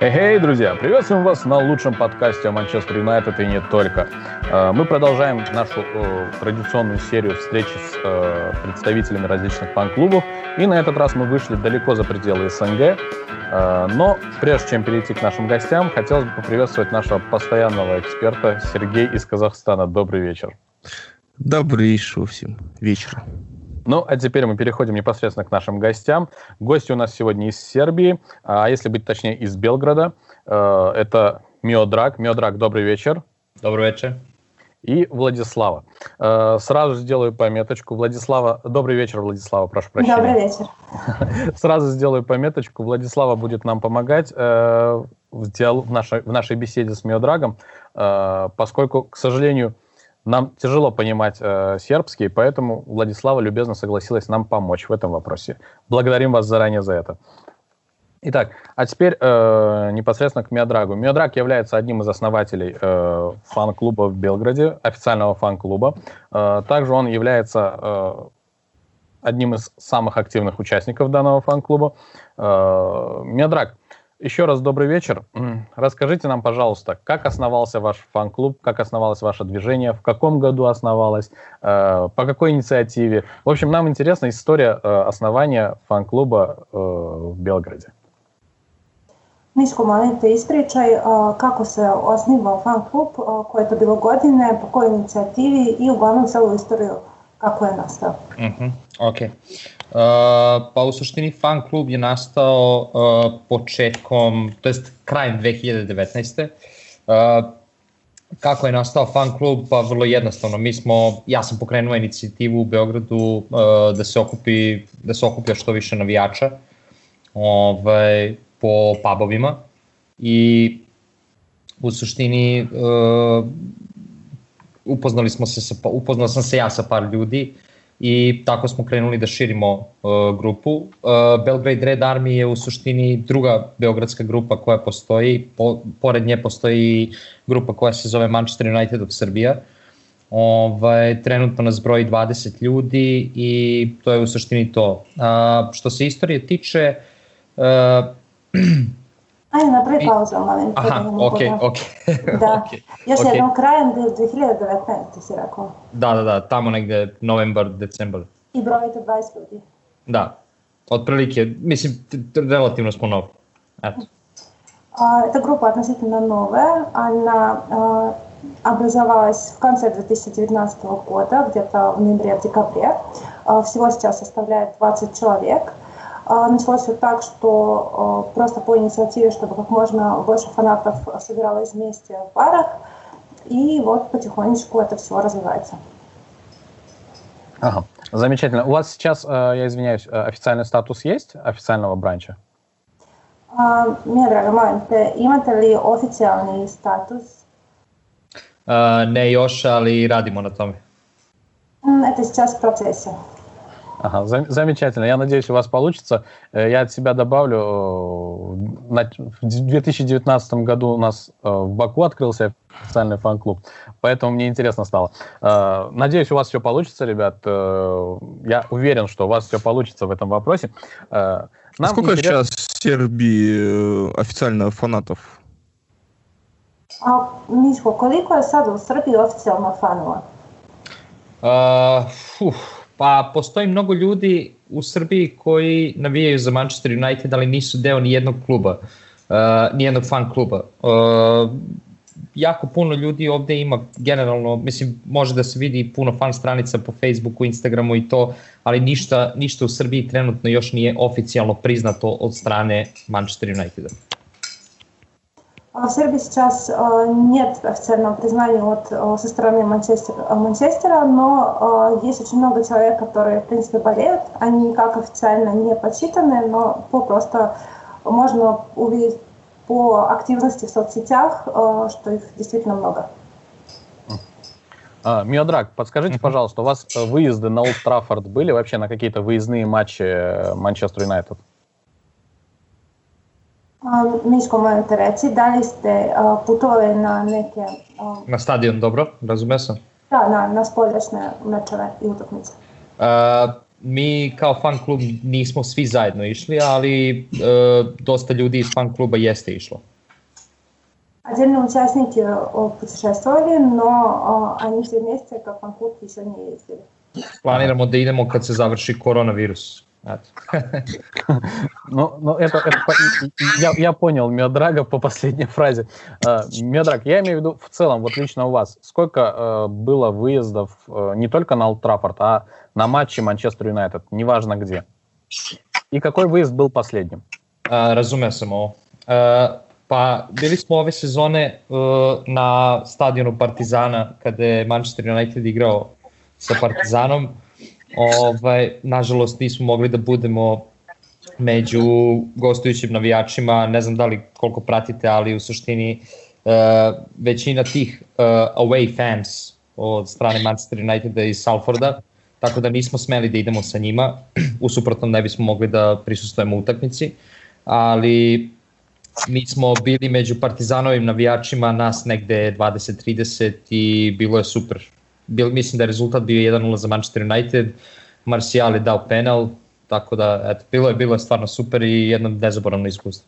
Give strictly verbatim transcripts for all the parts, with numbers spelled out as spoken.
Эй, друзья, приветствуем вас на лучшем подкасте о Манчестер Юнайтед и не только. Мы продолжаем нашу традиционную серию встреч с представителями различных фан-клубов, и на этот раз мы вышли далеко за пределы СНГ. Но прежде чем перейти к нашим гостям, хотелось бы поприветствовать нашего постоянного эксперта Сергей из Казахстана. Добрый вечер. Добрейшего всем вечера. Ну, а теперь мы переходим непосредственно к нашим гостям. Гости у нас сегодня из Сербии, а если быть точнее, из Белграда. Это Миодраг. Миодраг, добрый вечер. Добрый вечер. И Владислава. Сразу сделаю пометочку. Владислава, добрый вечер, Владислава, прошу прощения. Добрый вечер. Сразу сделаю пометочку. Владислава будет нам помогать в, диалог, в, нашей, в нашей беседе с Миодрагом, поскольку, к сожалению, нам тяжело понимать э, сербский, поэтому Владислава любезно согласилась нам помочь в этом вопросе. Благодарим вас заранее за это. Итак, а теперь э, непосредственно к Миодрагу. Миодраг является одним из основателей э, фан-клуба в Белграде, официального фан-клуба. Э, также он является э, одним из самых активных участников данного фан-клуба. Э, Миодраг, еще раз добрый вечер. Расскажите нам, пожалуйста, как основался ваш фан-клуб, как основалось ваше движение, в каком году основалось, э, по какой инициативе. В общем, нам интересна история э, основания фан-клуба э, в Белграде. Miško, molim te ispričaj uh, kako se osnivao fan-klub, uh, koje je to bilo godine, po kojoj inicijativi i uglavnom celu istoriju kako je nastao. Uh-huh. Ok. Uh, pa u suštini fan klub je nastao uh, početkom, to jest krajem dve hiljade devetnaeste. Uh, kako je nastao fan klub? Pa vrlo jednostavno. Mi smo, ja sam pokrenuo inicijativu u Beogradu uh, da se okupi, da se okuplja što više navijača ovaj, po pubovima i u suštini uh, upoznali smo se sa, upoznao sam se ja sa par ljudi i tako smo krenuli da širimo uh, grupu. Uh, Belgrade Red Army je u suštini druga beogradska grupa koja postoji. Po, pored nje postoji grupa koja se zove Manchester United of Serbia. Ovaj, trenutno nas broji dvadeset ljudi i to je u suštini to. Uh, što se istorije tiče... Uh, Ajde, napravi pauzu, molim. Aha, okej, okej. Da, još okay. jednom krajem dve hiljade devetnaeste si rekao. Da, da, da, tamo negde novembar, decembar. I brojite dvadeset ljudi. Da, otprilike, mislim, relativno smo novi. Eto. А, эта группа относительно новая, она а, образовалась в конце две тысячи девятнадцатого года, где-то в ноябре-декабре. А, всего сейчас составляет двадцать человек. Началось все так, что просто по инициативе, чтобы как можно больше фанатов собиралось вместе в барах, и вот потихонечку это все развивается. Ага, замечательно. У вас сейчас, я извиняюсь, официальный статус есть официального бранча? Миодраг, molim te, imate li oficijalni status? Uh, ne još, ali radimo na tome. Это сейчас в процессе. Ага, замечательно. Я надеюсь, у вас получится. Я от себя добавлю. В две тысячи девятнадцатом году у нас в Баку открылся официальный фан-клуб, поэтому мне интересно стало. Надеюсь, у вас все получится, ребят. Я уверен, что у вас все получится в этом вопросе. Нам Сколько интерес... сейчас в Сербии официально фанатов? А, Мишко, koliko je sad u Srbiji oficijalno fanova? Uh, fuh. Pa postoji mnogo ljudi u Srbiji koji navijaju za Manchester United, ali nisu deo nijednog kluba, uh, nijednog fan kluba. Uh, jako puno ljudi ovde ima generalno, mislim, može da se vidi puno fan stranica po Facebooku, Instagramu i to, ali ništa, ništa u Srbiji trenutno još nije oficijalno priznato od strane Manchester Uniteda. В Сербии сейчас нет официального признания от, со стороны Манчестер, Манчестера, но есть очень много человек, которые, в принципе, болеют. Они никак официально не подсчитаны, но по просто можно увидеть по активности в соцсетях, что их действительно много. А, Миодраг, подскажите, пожалуйста, у вас выезды на Олд Траффорд были вообще на какие-то выездные матчи Манчестер Юнайтед? Um, Miško, moram te reći, da li ste uh, putovali na neke... Um, na stadion, dobro, razumio sam? Da, na, na spoljašnje mečeve i utakmice. Uh, mi kao fan klub nismo svi zajedno išli, ali uh, dosta ljudi iz fan kluba jeste išlo. Отдельные участники путешествовали, но они все вместе, как фан-клуб, еще не ездили. Planiramo da idemo kad se završi koronavirus. Ну, ну это, это я, я понял Миодрага по последней фразе. Миодраг, я имею в виду в целом, вот лично у вас, сколько uh, было выездов uh, не только на Олд Траффорд, а на матчи Манчестер Юнайтед, неважно где. И какой выезд был последним? Uh, razumeo sam ovo. Uh, pa bili smo ove sezone uh, na stadionu Partizana kada je Manchester United igrao sa Partizanom. Ovaj, nažalost nismo mogli da budemo među gostujućim navijačima, ne znam da li koliko pratite, ali u suštini uh, većina tih uh, away fans od strane Manchester Uniteda iz Salforda, tako da nismo smeli da idemo sa njima, u suprotnom ne bismo mogli da prisustvujemo utakmici, ali mi smo bili među Partizanovim navijačima, nas negde dvadeset trideset i bilo je super. Bil, mislim da je rezultat bio jedan nula za Manchester United, Martial je dao penal, tako da eto, bilo je bilo je stvarno super i jedno nezaboravno iskustvo.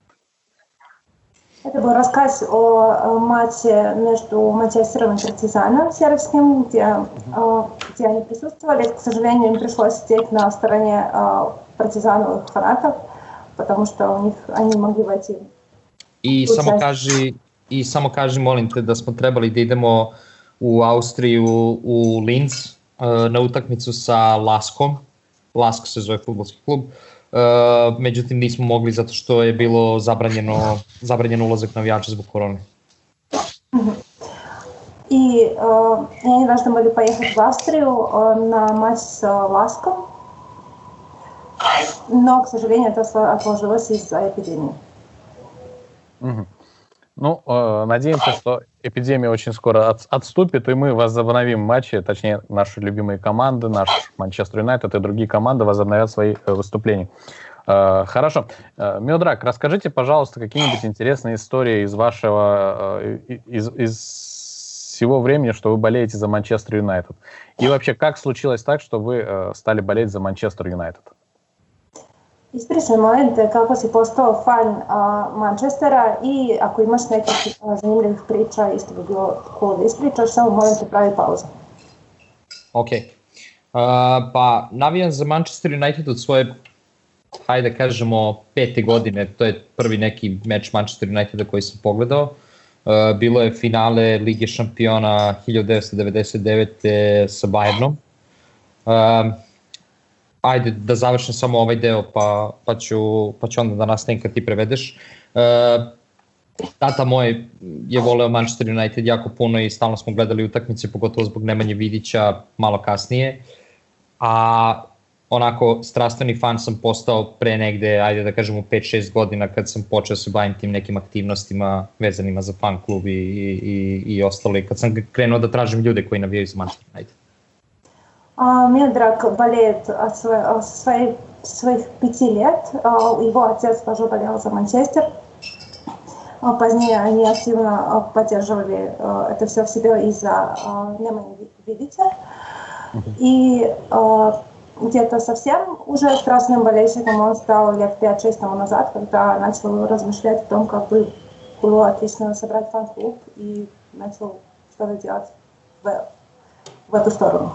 Это был рассказ о матче между Манчестером и Партизаном сербским, где, где они присутствовали. К сожалению, им пришлось сидеть на стороне партизановых фанатов, потому что у них они могли войти. I samo kaži, i samo kaži molim te da smo trebali da idemo u Austriju, u Linz, na utakmicu sa Laskom. Lask se zove fudbalski klub. Međutim, nismo mogli zato što je bilo zabranjeno, zabranjeno ulazak navijača zbog korone. И э, они должны были поехать в Австрию э, на матч с э, Ласком, но, к сожалению, это отложилось из-за эпидемии. Угу. Ну, э, надеемся, что эпидемия очень скоро от, отступит, и мы возобновим матчи, точнее, наши любимые команды, наш Манчестер Юнайтед и другие команды возобновят свои э, выступления. Э, хорошо. Э, Миодраг, расскажите, пожалуйста, какие-нибудь интересные истории из вашего, э, из, из всего времени, что вы болеете за Манчестер Юнайтед. И вообще, как случилось так, что вы э, stali болеть за Манчестер Юнайтед? Ispričaj momente kako si postao fan uh, Manchestera i ako imaš nekih uh, zanimljivih priča, isto bi bilo cool da ispričaš, samo molim te pravi pauzu. Ok. Uh, pa navijam za Manchester United od svoje, hajde kažemo, pete godine. To je prvi neki meč Manchester Uniteda koji sam pogledao. Uh, bilo je finale Lige šampiona hiljadu devetsto devedeset devete sa Bayernom. Uh, Ajde da završim samo ovaj deo pa, pa, ću, pa ću onda da nastavim kad ti prevedeš. Uh, tata moj je voleo Manchester United jako puno i stalno smo gledali utakmice, pogotovo zbog Nemanje Vidića malo kasnije. A onako strastveni fan sam postao pre negde, ajde da kažemo pet šest godina kad sam počeo se bavim tim nekim aktivnostima vezanima za fan klub i, i, i ostalo. I kad sam krenuo da tražim ljude koji navijaju za Manchester United. Миодраг болеет от своих, своих пяти лет. Его отец тоже болел за Манчестер. Позднее они активно поддерживали это все в себе из-за Немани Видича. И где-то совсем уже страстным болельщиком он стал лет пять-шесть тому назад, когда начал размышлять о том, как бы было отлично собрать фан-клуб и начал что-то делать в, в эту сторону.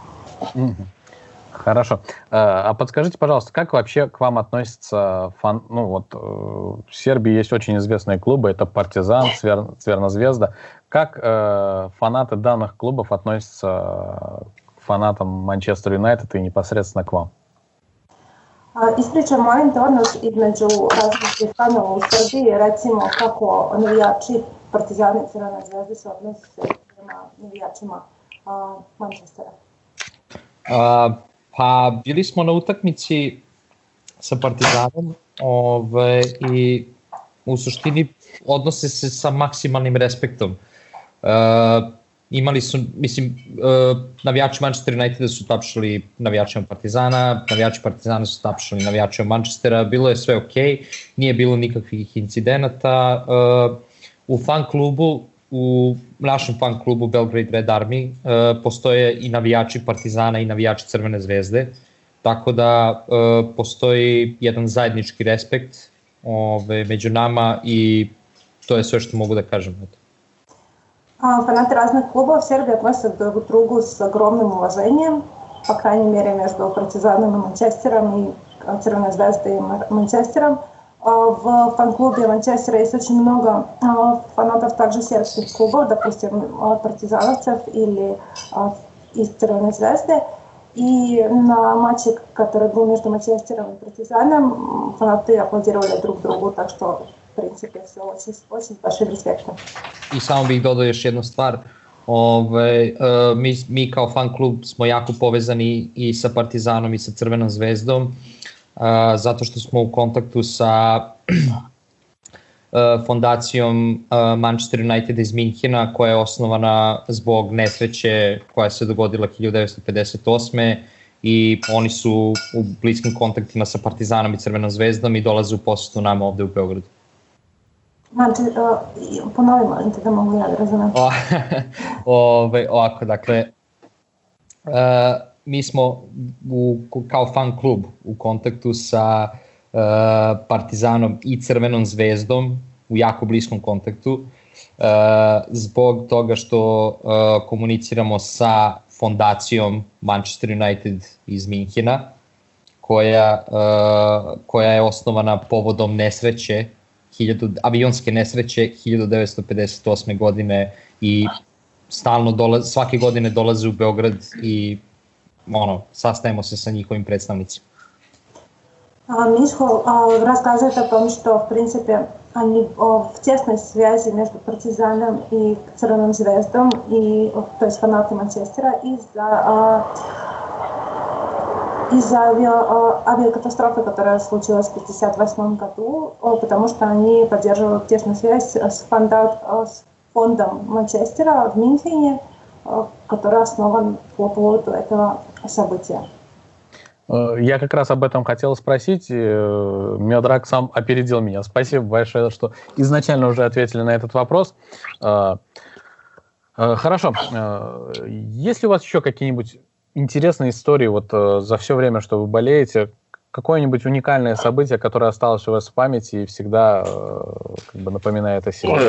Хорошо. А подскажите, пожалуйста, как вообще к вам относятся фан... Ну вот в Сербии есть очень известные клубы, это Партизан, Цвер... Цверна-Звезда. Как э, фанаты данных клубов относятся к фанатам Манчестер Юнайтед и непосредственно к вам? Ispričam molim te odnos između različitih fanova u Srbiji, recimo kako navijači Partizana i Crvene zvezde se odnose prema navijačima uh, Manchestera. Uh, pa bili smo na utakmici sa Partizanom ove, i u suštini odnose se sa maksimalnim respektom. Uh, imali su, mislim, uh, navijači Manchester Uniteda su tapšali navijačima Partizana, navijači Partizana su tapšali navijačima Manchestera, bilo je sve okej, nije bilo nikakvih incidenata. Uh, u fan klubu U našem fan klubu Belgrade Red Army uh, postoje i navijači Partizana i navijači Crvene zvezde, tako da uh, postoji jedan zajednički respekt ove, među nama i to je sve što mogu da kažem. Фанаты разных клубов в Сербии относятся друг к другу с огромным уважением, по крайней мере, между Партизаном и Манчестером, и Цервеной Звездой и Манчестером. В фан-клубе Манчестера есть очень много фанатов также сербских клубов, допустим, партизановцев или из Цервеной Звезды. И на матче, который был между Манчестером и Партизаном, фанаты аплодировали друг другу, так что в принципе все очень, очень с большим респектом. I samo bih dodao još jednu stvar. Ove, uh, mi, mi kao fan klub smo jako povezani i sa Partizanom i sa Crvenom zvezdom, uh, zato što smo u kontaktu sa uh, fondacijom uh, Manchester United iz Minhena, koja je osnovana zbog nesreće koja se dogodila hiljadu devetsto pedeset osme i oni su u bliskim kontaktima sa Partizanom i Crvenom zvezdom i dolaze u posetu nama ovde u Beogradu. Znači, uh, ponovi molim te da mogu ja da razumem. Ove, ovako, dakle, uh, mi smo u, kao fan klub u kontaktu sa uh, Partizanom i Crvenom zvezdom, u jako bliskom kontaktu, uh, zbog toga što uh, komuniciramo sa fondacijom Manchester United iz Minhena, koja, uh, koja je osnovana povodom nesreće, hiljadu, avionske nesreće hiljadu devetsto pedeset osme godine i stalno dolaze, svake godine dolaze u Beograd i ono, sastajemo se sa njihovim predstavnicima. Мишко рассказывает о том, что в принципе они в тесной связи между Партизаном и Цервеным Звездом, и, то есть фанаты Манчестера, из-за из-за авиа, авиакатастрофы, которая случилась в тысяча девятьсот пятьдесят восьмом году, потому что они поддерживают тесную связь с, фонда, с фондом Манчестера в Мюнхене, который основан по поводу этого события. Я как раз об этом хотел спросить. Миодраг сам опередил меня. Спасибо большое, что изначально уже ответили на этот вопрос. Хорошо. Есть ли у вас еще какие-нибудь интересные истории вот за все время, что вы болеете? Какое-нибудь уникальное событие, которое осталось у вас в памяти и всегда как бы напоминает о себе?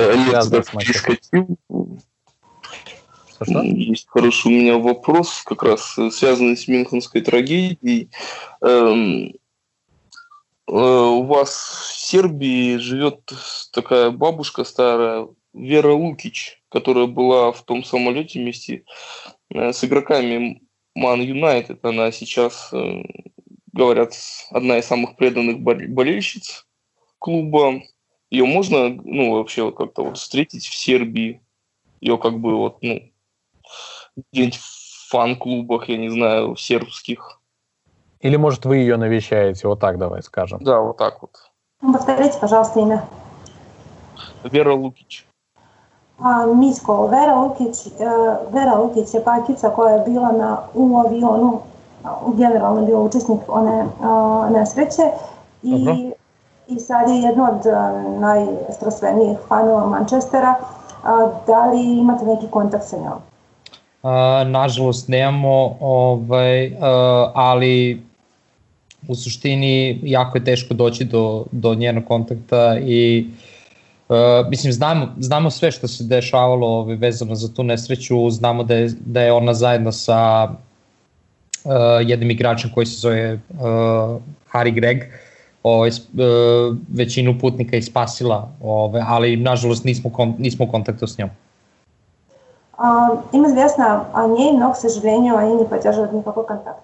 Что? Есть хороший у меня вопрос, как раз связанный с Мюнхенской трагедией. Эм, э, у вас в Сербии живет такая бабушка старая, Вера Лукич, которая была в том самолете вместе э, с игроками Man United. Она сейчас, э, говорят, одна из самых преданных болельщиц клуба. Ее можно, ну, вообще как-то вот встретить в Сербии? Ее как бы вот, ну, где-нибудь в фан-клубах, я не знаю, сербских. Или, может, вы ее навещаете, вот так давай скажем. Да, вот так вот. Повторите, пожалуйста, имя. Вера Лукич. А, Мисько, Вера Лукич, э, Вера Лукич je bakica koja je bila na, u avionu, generalno bio učesnik one uh, nesreće i, i sad je jedno od uh, najstrastvenijih fanova Manchestera. Uh, da li imate neki kontakt sa njom? Uh, nažalost nemamo, ovaj, uh, ali u suštini jako je teško doći do, do njenog kontakta i uh, mislim znamo, znamo sve što se dešavalo ovaj, vezano za tu nesreću, znamo da je, da je ona zajedno sa uh, jednim igračem koji se zove uh, Harry Gregg ovaj, uh, većinu putnika i spasila, ovaj, ali nažalost nismo, kon, nismo u kontaktu s njom. Uh, им известно о ней, но, к сожалению, они не поддерживают никакой контакт.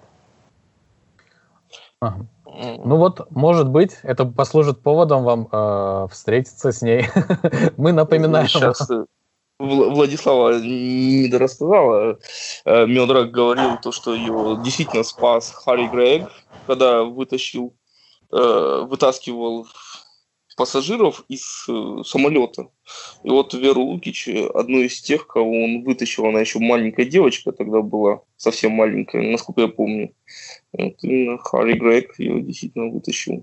Ага. Ну вот, может быть, это послужит поводом вам э, встретиться с ней. Мы напоминаем. Сейчас Владислава не дорассказала. Миодраг говорил то, что ее действительно спас Харри Грегг, когда вытащил, вытаскивал пассажиров из э, самолета. И вот Веру Лукич, одну из тех, кого он вытащил, она еще маленькая девочка тогда была, совсем маленькая, насколько я помню. Вот именно Харри Грегг ее действительно вытащил.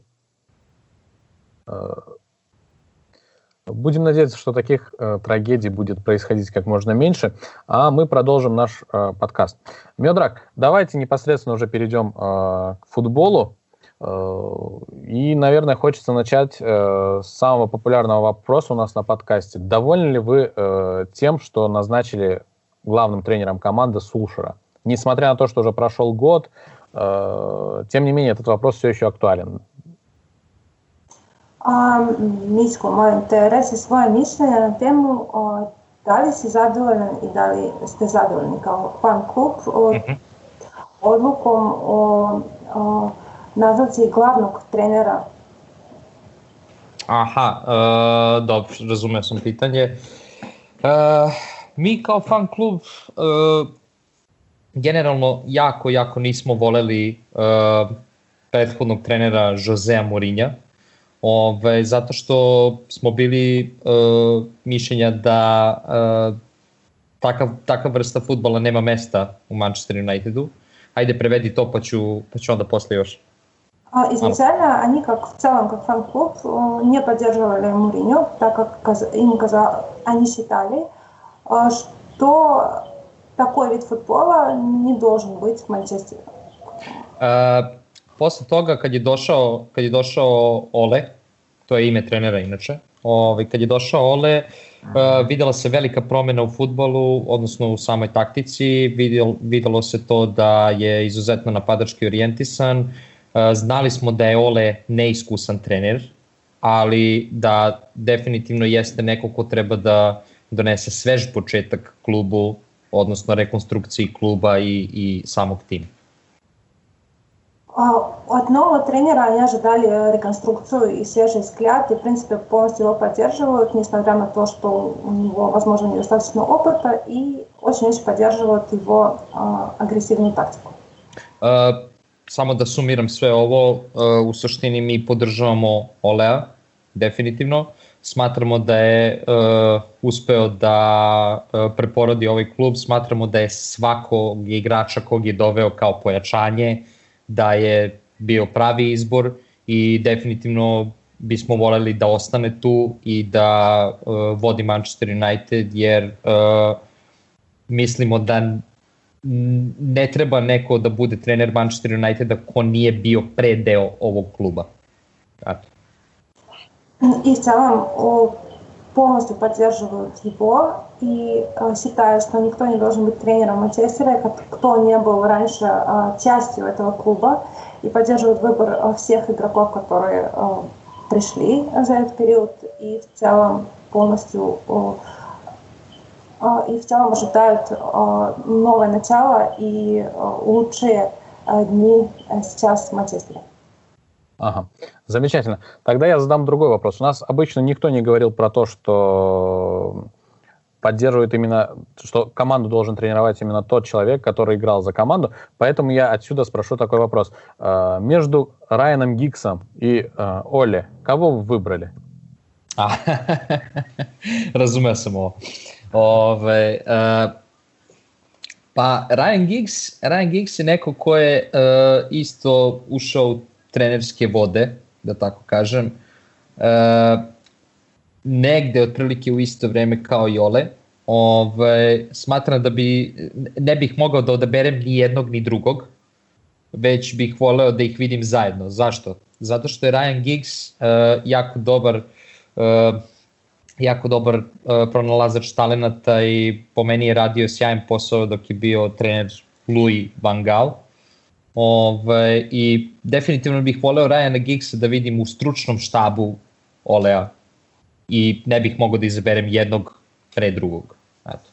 Будем надеяться, что таких э, трагедий будет происходить как можно меньше, а мы продолжим наш э, подкаст. Миодраг, давайте непосредственно уже перейдем э, к футболу. И, наверное, хочется начать с самого популярного вопроса у нас на подкасте. Довольны ли вы тем, что назначили главным тренером команды Сулшера? Несмотря на то, что уже прошел год, tiem не менее, этот вопрос все еще актуален. A, Miško, molim te, reći svoje mišljenje na temu o, da li si zadovoljan i da li ste zadovoljni kao fan klub o, mm-hmm. odlukom o, o nazvati glavnog trenera. Aha, uh, dobro, razumeo sam pitanje. Uh, mi kao fan klub uh, generalno jako, jako nismo voleli uh, prethodnog trenera Josea Mourinha, ove, zato što smo bili uh, mišljenja da uh, takav, takav vrsta fudbala nema mesta u Manchester Unitedu. Ajde, prevedi to, pa ću, pa ću onda posle još. Изначально они, как в целом, как фан-клуб, не поддерживали Муриньо, так как им казалось, они считали, что такой вид футбола не должен быть в Манчестере. Uh, posle toga, kad je došao, kad je došao Ole, to je ime trenera inače, ovaj, kad je došao Ole, uh, videla se velika promjena u fudbalu, odnosno u samoj taktici, vidjelo, vidjelo se to da je izuzetno napadački orijentisan. Znali smo da je Ole neiskusan trener, ali da definitivno jeste neko ko treba da donese svež početak klubu, odnosno rekonstrukciji kluba i, i samog tima. От нового тренера они ожидали реконструкцию и свежий взгляд, и в принципе полностью его поддерживают, несмотря на то, что у него, возможно, недостаточно опыта, и очень-очень поддерживают его агрессивную тактику. Uh, Samo da sumiram sve ovo, u suštini mi podržavamo Olea, definitivno. Smatramo da je uh, uspeo da uh, preporodi ovaj klub, smatramo da je svakog igrača kog je doveo kao pojačanje, da je bio pravi izbor i definitivno bismo voljeli da ostane tu i da uh, vodi Manchester United, jer uh, mislimo da ne treba neko da bude trener Manchester Uniteda ko nije bio predeo ovog kluba. Eto. И в целом полностью поддерживают его и считают, что никто не должен быть тренером Манчестера, кто не был раньше частью этого клуба, и поддерживают выбор всех игроков, которые пришли за этот период, и в целом полностью и в целом ожидают новое начало и лучшие дни сейчас в Манчестере. Ага, замечательно. Тогда я задам другой вопрос. У нас обычно никто не говорил про то, что поддерживает именно, что команду должен тренировать именно тот человек, который играл за команду. Поэтому я отсюда спрошу такой вопрос. Между Райаном Гиггсом и Оле, кого вы выбрали? Razumeo sam ovo. Ove, uh, pa Ryan Giggs, Ryan Giggs je neko ko je uh, isto ušao u trenerske vode, da tako kažem, uh, negde otprilike u isto vreme kao i Ole. Ove, smatram da bi, ne bih mogao da odaberem ni jednog ni drugog, već bih voleo da ih vidim zajedno. Zašto? Zato što je Ryan Giggs uh, jako dobar uh, jako dobar uh, pronalazač talenata i po meni je radio sjajan posao dok je bio trener Louis van Gaal. Ove, I definitivno bih voleo Ryana Giggsa da vidim u stručnom štabu Olea i ne bih mogao da izaberem jednog pre другog. Eto.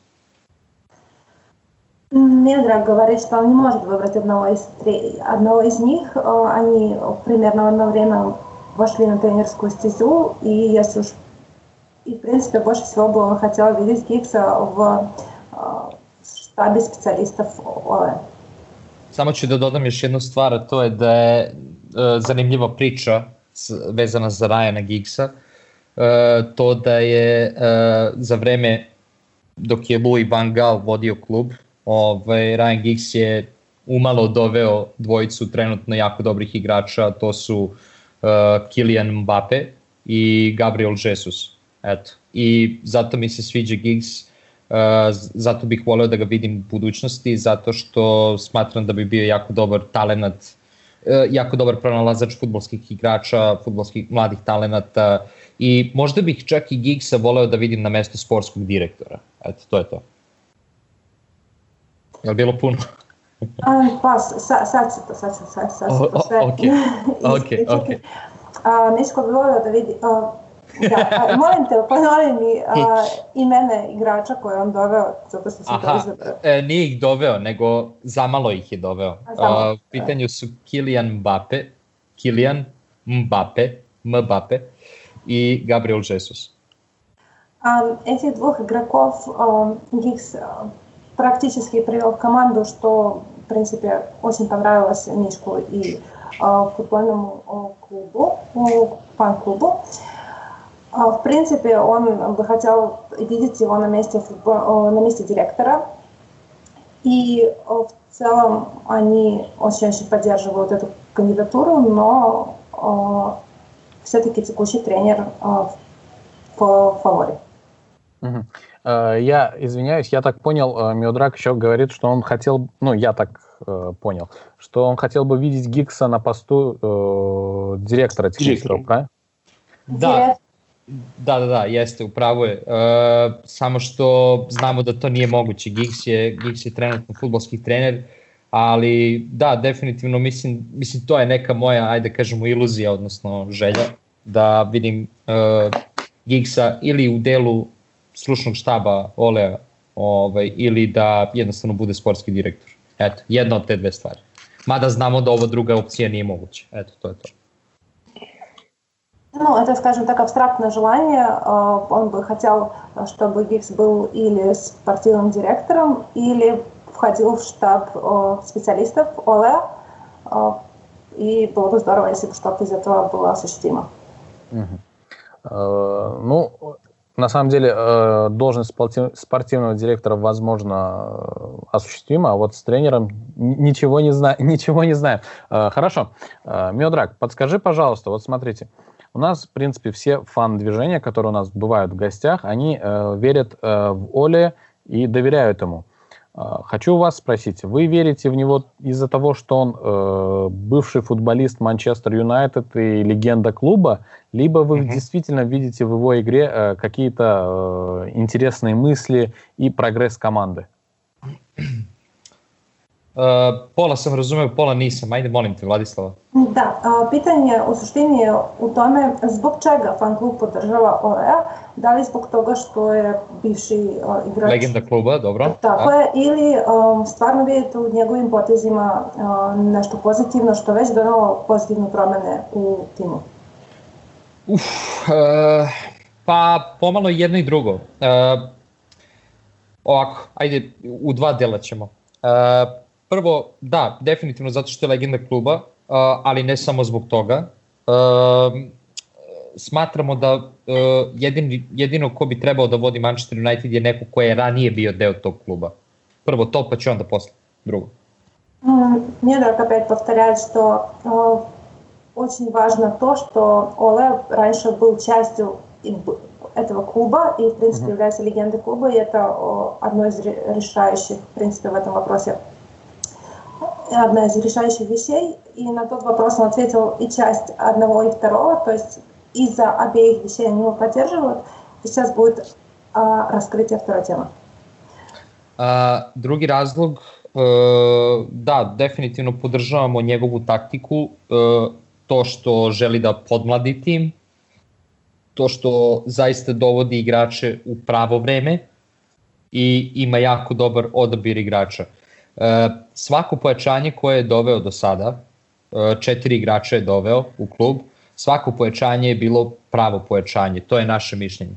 Милдред говорит, что он не может выбрать одного из, одного из них. Они примерно в одно время вошли на тренерскую стезю, и если уж и, в принципе, больше всего бы он хотел видеть Гиггса в штабе специалистов Оле. Samo ću da dodam još jednu stvar, a to je da je uh, zanimljiva priča vezana za Ryana Giggsa. Uh, to da je uh, za vreme dok je Louis van Gaal vodio klub, ovaj, Ryan Giggs je umalo doveo dvojicu trenutno jako dobrih igrača, to su uh, Kylian Mbappe i Gabriel Jesus. Eto. I zato mi se sviđa Giggs, uh, zato bih voleo da ga vidim u budućnosti, zato što smatram da bi bio jako dobar talenat e, jako dobar pronalazač fudbalskih igrača, fudbalskih mladih talenata i možda bih čak i Giggsa voleo da vidim na mesto sportskog direktora. Eto, to je to. Je li bilo puno? A, pa, sad, sad se to, sad se, sad, sad se to sve ispričati. Ok, ok. Miško bi volio da vidi, a, da, a, molim te, ponovi mi a, imene igrača koje on doveo, zato što sam to izabrao. E, nije ih doveo, nego zamalo ih je doveo. A, u pitanju su Kylian Mbappe, Kylian Mbappe, Mbappe и Габриэл Жесус. Этих двух игроков Гиггс практически привел в команду, что, в принципе, очень понравилось Мишку и футбольному клубу, фан-клубу. В принципе, он бы хотел видеть его на месте, футбол, на месте директора. И в целом они очень-очень поддерживают эту кандидатуру, но все-таки текущий тренер в фаворе. Угу. Я извиняюсь, я так понял, Миодраг еще говорит, что он хотел, ну, я так э, понял, что он хотел бы видеть Гиггса на посту э, директора технического, правильно? Да, da, da, da, jeste, upravo je. E, samo što znamo da to nije moguće. Giggs je, Giggs je trenutno fudbalski trener, ali da, definitivno mislim, mislim to je neka moja, ajde kažemo, iluzija, odnosno želja, da vidim e, Giggsa ili u delu stručnog štaba Olea, ovaj, ili da jednostavno bude sportski direktor. Eto, jedna od te dve stvari. Mada znamo da ova druga opcija nije moguća. Eto, to je to. Ну, это, скажем так, абстрактное желание. Он бы хотел, чтобы Гиггс был или спортивным директором, или входил в штаб специалистов Оле. И было бы здорово, если бы что-то из этого было осуществимо. Ну, на самом деле, должность спортивного директора, возможно, осуществима, а вот с тренером ничего не знаю, ничего не знаю. Хорошо. Миодраг, подскажи, пожалуйста, вот смотрите, у нас, в принципе, все фан-движения, которые у нас бывают в гостях, они э, верят э, в Оле и доверяют ему. Э, хочу вас спросить, вы верите в него из-за того, что он э, бывший футболист Манчестер Юнайтед и легенда клуба, либо вы mm-hmm. действительно видите в его игре э, какие-то э, интересные мысли и прогресс команды? Uh, pola sam razumeo, pola nisam. Ajde, molim te, Vladislava. Da, pitanje u suštini je u tome zbog čega fan klub podržava Olea, da li zbog toga što je bivši igrač... Legenda kluba, dobro. Tako je, ili um, stvarno vidite u njegovim potezima um, nešto pozitivno, što već donalo pozitivne promene u timu? Uf, uh, pa pomalo jedno i drugo. Uh, ovako, ajde, u dva dela ćemo. Uh, Prvo, da, definitivno zato što je legenda kluba, uh, ali ne samo zbog toga. Uh, smatramo da uh, jedin, jedino ko bi trebao da vodi Manchester United je neko ko je ranije bio deo tog kluba. Prvo to, pa će onda posle drugo. Миодраг опять повторяет, что uh, очень важно то, что Оле раньше был частью этого клуба и, в принципе, uh-huh. является легендой клуба, и это uh, одно из решающих, в принципе, в этом вопросе. Одна из решающих вещей, и на тот вопрос он ответил и часть одного, и второго, то есть из-за обеих вещей они его поддерживают, и сейчас будет а, раскрытие второй темы. A, drugi razlog, e, da, definitivno podržavamo njegovu taktiku, e, to što želi da podmladi tim, to što zaista dovodi igrače u pravo vreme i ima jako dobar odabir igrača. E, svako pojačanje koje je doveo do sada, e, četiri igrača je doveo u klub, svako pojačanje je bilo pravo pojačanje, to je naše mišljenje.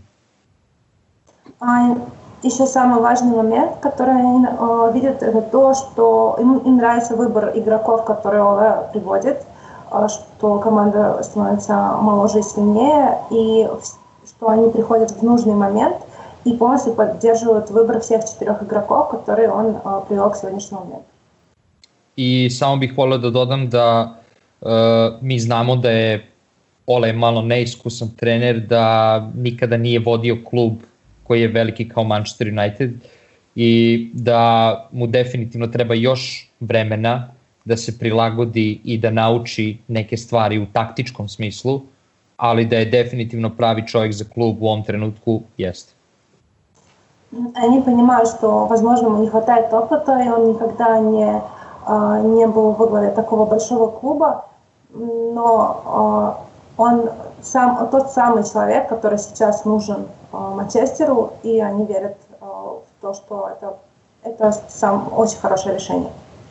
А еще самый важный момент, который они э, видят, это то, что им, им нравится выбор игроков, которые Оле приводит, э, что команда становится моложе и сильнее, и что они приходят в нужный момент и полностью поддерживают выбор всех четырех игроков, которые он uh, привел к сегодняшнему моменту. I samo bih volio da dodam da uh, mi znamo da je Ole malo neiskusan trener, da nikada nije vodio klub koji je veliki kao Manchester United i da mu definitivno treba još vremena da se prilagodi i da nauči neke stvari u taktičkom smislu, ali da je definitivno pravi čovjek za klub u ovom trenutku, jeste. Они понимают, что, возможно, ему не хватает опыта, и он никогда не, не был во главе такого большого клуба, но он сам, тот самый человек, который сейчас нужен Манчестеру, и они верят в то, что это, это сам очень хорошее решение.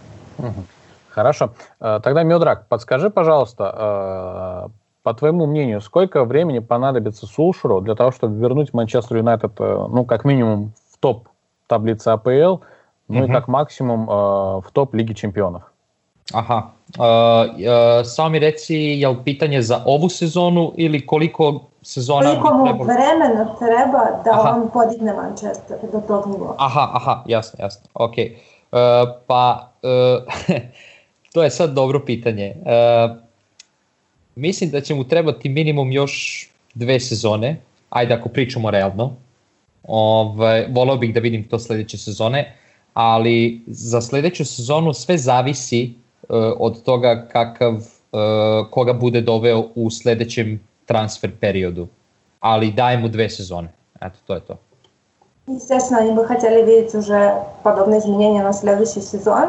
Хорошо. Тогда, Миодраг, подскажи, пожалуйста, по твоему мнению, сколько времени понадобится Сулшеру для того, чтобы вернуть Манчестер Юнайтед, ну, как минимум, в топ таблицы АПЛ, ну mm-hmm. и как максимум в топ Лиги Чемпионов? Aha. Uh, uh, samo mi reci, je li pitanje za ovu sezonu ili koliko sezona koliko bi mu trebalo? vremena treba da aha. on podigne Manchester do tog nivoa? Aha, aha, jasno, jasno. Ok. Uh, pa, uh, to je sad dobro pitanje. Uh, mislim da će mu trebati minimum još dve sezone. Ajde, ako pričamo realno. Ovaj, volao bih da vidim to sledeće sezone, ali za sledeću sezonu sve zavisi od toga kakav, koga bude doveo u sledećem transfer periodu. Ali daje mu dve sezone. Eto, to je to. Естественно, они бы хотели видеть уже подобные изменения на следующий сезон,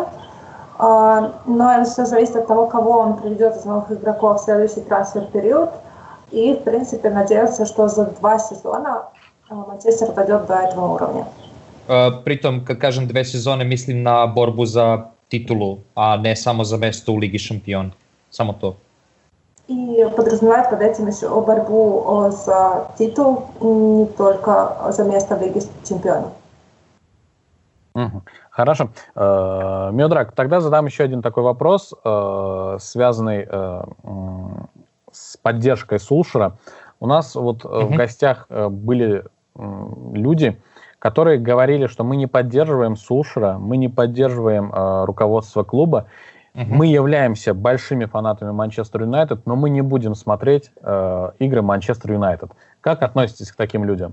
но это все зависит от того, кого он приведет из новых игроков в следующий трансфер-период. И, в принципе, надеются, что за два сезона Манчестер дойдет до этого уровня. Pritom, kad kažem dve sezone, mislim na borbu za titulu, a не само за место у Лиги Шампион. Само то. И подразумевает под этим еще борьбу за титул, не только за место в Лиге Чемпионов. Угу. Хорошо. Миодраг, тогда задам еще один такой вопрос, связанный с поддержкой Сулшера. У нас вот угу. в гостях были люди, которые говорили, что мы не поддерживаем Сулшера, мы не поддерживаем э, руководство клуба, uh-huh. мы являемся большими фанатами Манчестер Юнайтед, но мы не будем смотреть э, игры Манчестер Юнайтед. Как относитесь к таким людям?